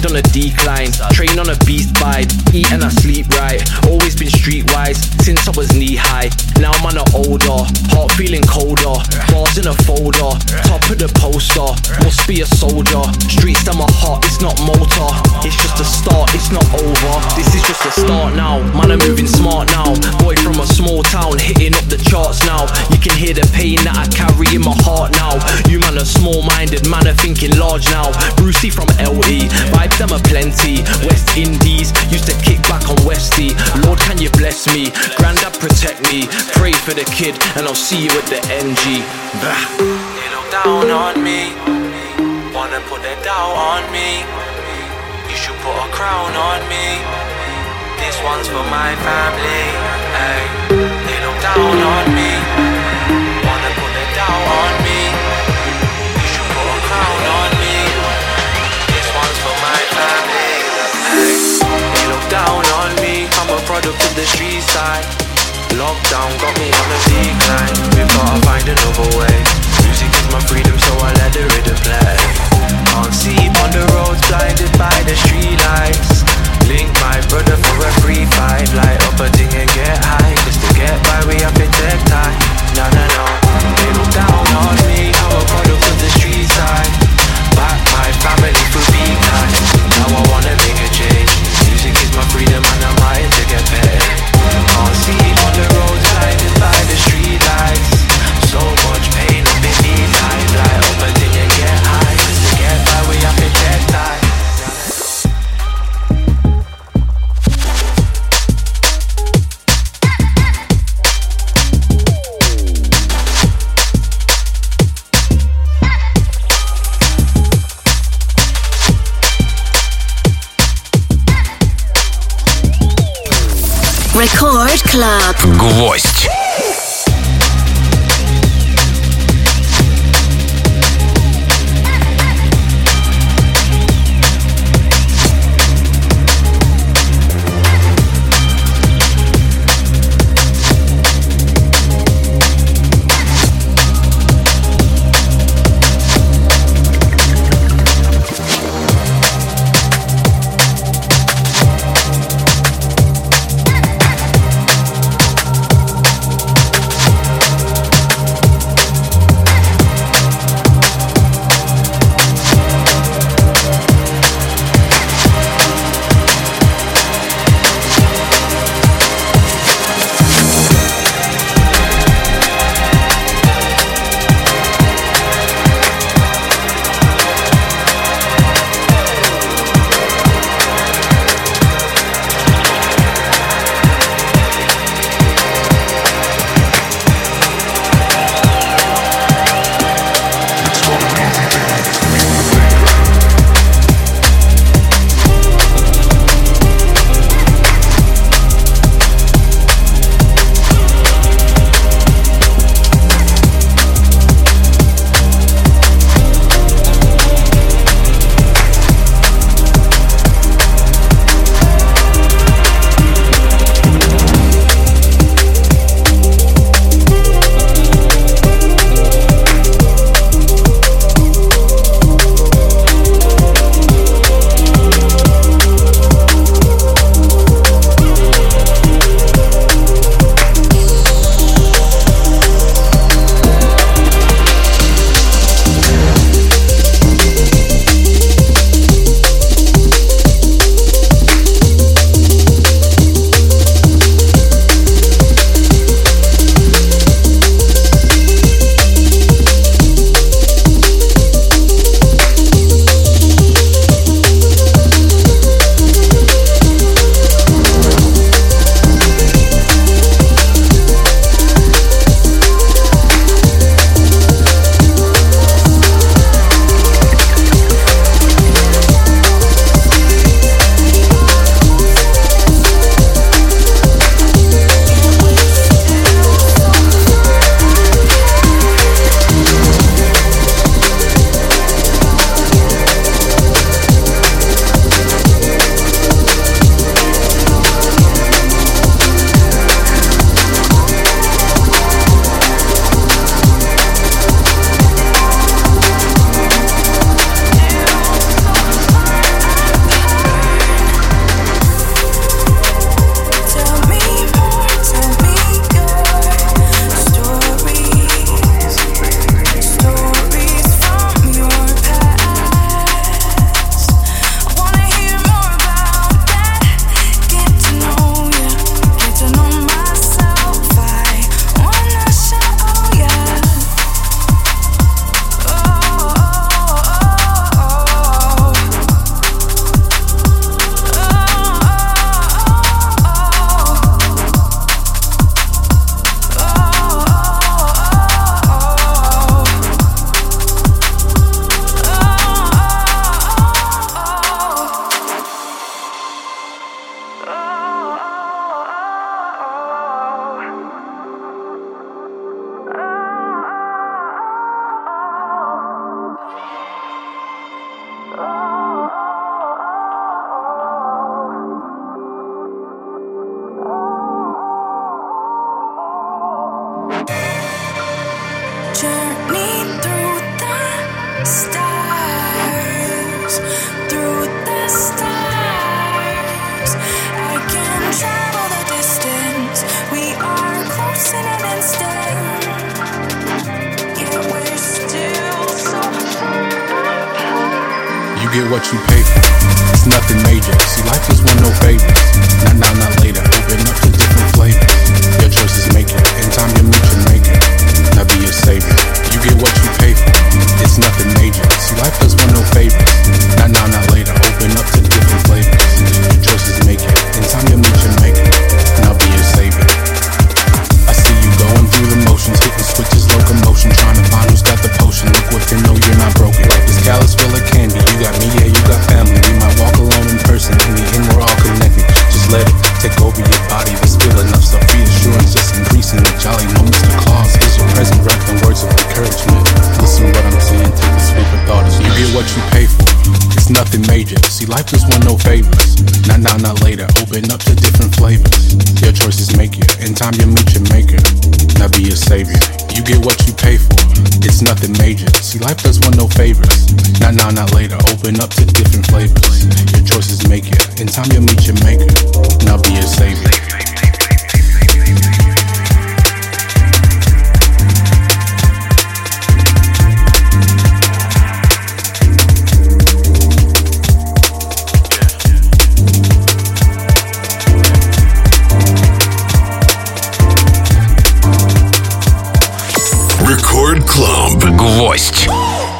on a decline. Train on a beast vibe, eat and I sleep right. Always been streetwise since I was knee high. Now I'm on an older, heart feeling colder. Bars in a folder, top of the poster. Must be a soldier. Streets that my heart, it's not motor. It's just a start, it's not over. This is just a start now. Man, I'm moving smart now. Boy from a small town, hitting up the charts now. You can hear the pain that I carry in my heart now. You man are small-minded, man are thinking large now. Brucey from L E, vibes them are plenty. West Indies, used to kick back on Westy. Lord, can you bless me? Grandad, protect me. Pray for the kid, and I'll see you at the N G. Bah. They look down on me, wanna put their doubt on me. You should put a crown on me. This one's for my family. Ay. They look down on me, wanna put their doubt on me. You should put a crown on me. This one's for my family. Ay. They look down on me, I'm a product of the street side. Lockdown got me on a decline. We've gotta find another way. Music is my freedom, so I let the rhythm play. Can't sleep on the roads, blinded by the street lights. Link my brother for a free fight. Light up a thing and get high. Cause to get by we have to take time. No, no, no. They look down on me, I'm a product of the street side. Back my family for being kind. Now I wanna make a change. Music is my freedom and I'm hired to get paid. Can't see on the road, blinded by the street lights. So much pain up in these eyes. Light up a thing and get high. Cause to get by we have to take time. Record Club. Гвоздь. You get what you pay for. It's nothing major. See, life is one no favors. Not now, not later. Open up to different flavors. Your choices make it. In time you meet your maker. Now be a savior. You get what you pay for. It's nothing major. See, life does one no favors. Not now, not later. Open up to different flavors. Your choices make it. In time you meet your maker. Now be a savior. I see you going through the motions, hitting switches, locomotion, trying to find who's got the potion. Look within, know you're not broken. Like this callus full of candy. You got me, yeah, you got family. We might walk alone in person. In the end, we're all connected. Just let it take over your body. There's still enough stuff. Reassurance just increasing the jolly. No Mister Claus is your present, wrapped in words of encouragement. Listen what I'm saying, take a sweep of thought. You get what you pay for. It's nothing major. See, life just want no favors. Not now, not later. Open up to different flavors. Your choices make it. In time you meet your maker. Now be a savior. You get what you pay for. It's nothing major. See, life does want no favors. Not now, not later. Open up to different flavors. Your choices make it. In time you meet your maker. Now be a savior. Record Club. Гвоздь.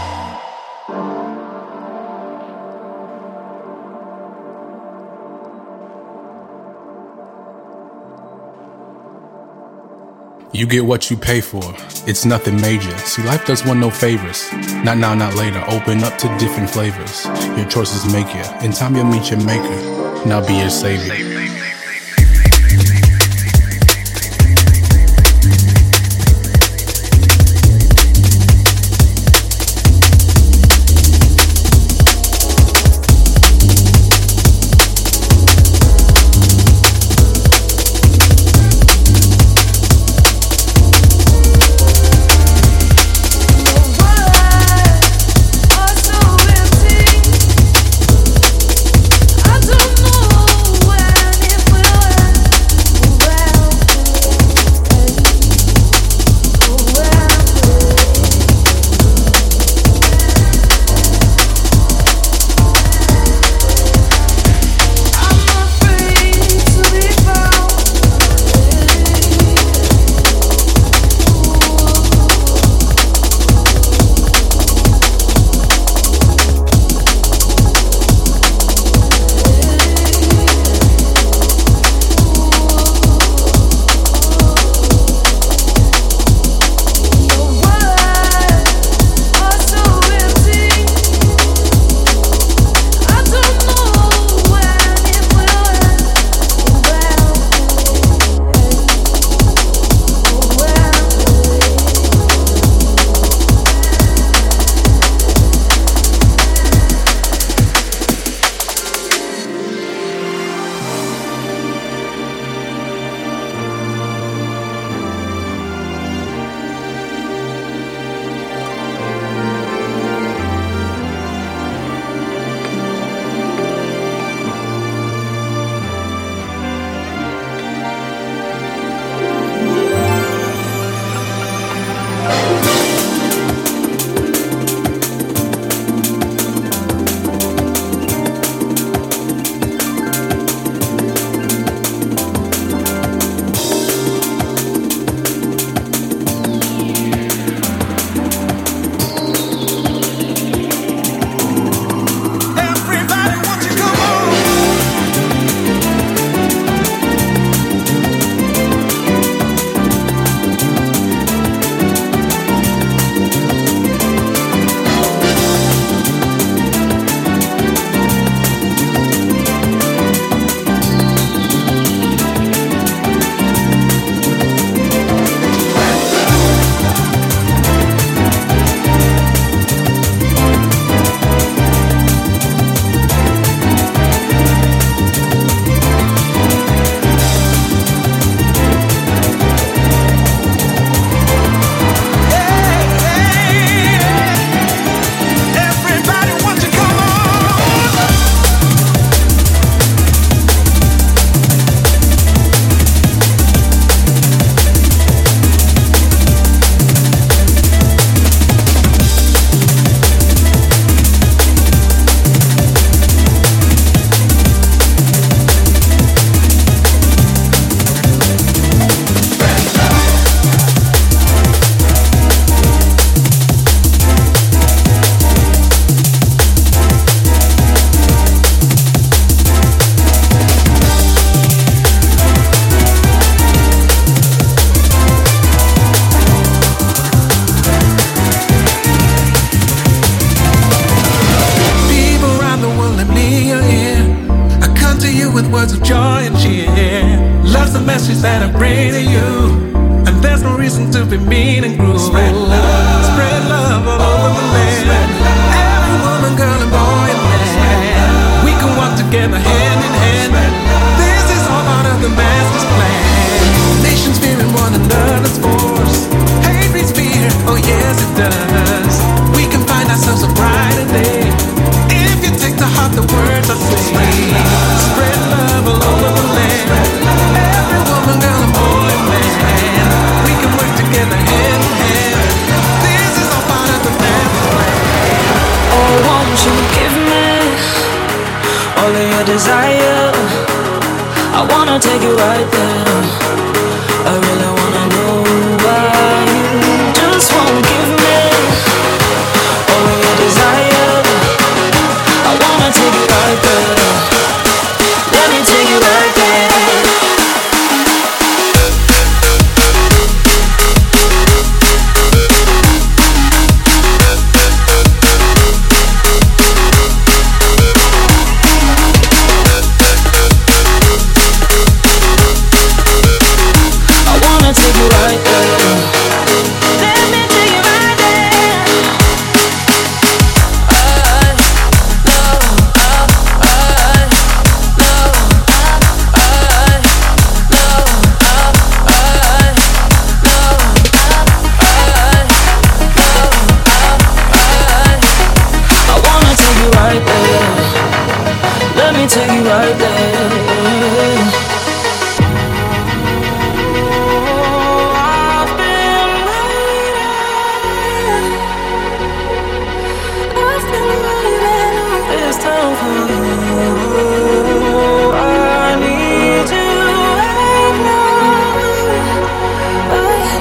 You get what you pay for. It's nothing major. See, life does want no favors. Not now, not later. Open up to different flavors. Your choices make you. In time you'll meet your maker. Now be your savior. I don't know where words of joy and cheer. Love's the message that I bring to you, and there's no reason to be mean and cruel. Spread love, spread love all over the land. Every woman, girl, and boy and man, we can walk together hand in hand. This is all part of the master's plan. Nations fearing one another's force. Hate breeds fear, oh yes it does. We can find ourselves a brighter day if you take to heart the words I say. Spread love all over the land. Every woman, girl, and boy and man, we can work together hand in hand. This is all part of the master's plan. Oh, won't you give me all of your desire? I wanna take you right there. I really wanna know why you just won't give me all of your desire. I wanna take you right there. Let me take you right there. Take you right there. Oh, I've been waiting. I've been waiting all this time for you. I need you right now, right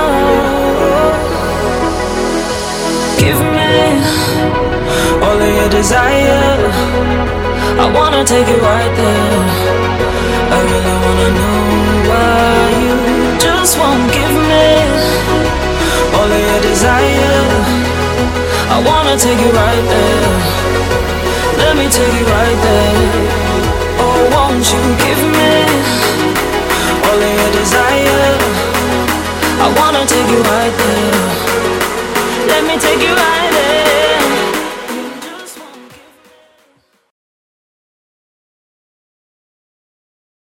now. Give me all of your desire. I wanna take you right there. I really wanna know why you just won't give me all of your desire. I wanna take you right there. Let me take you right there.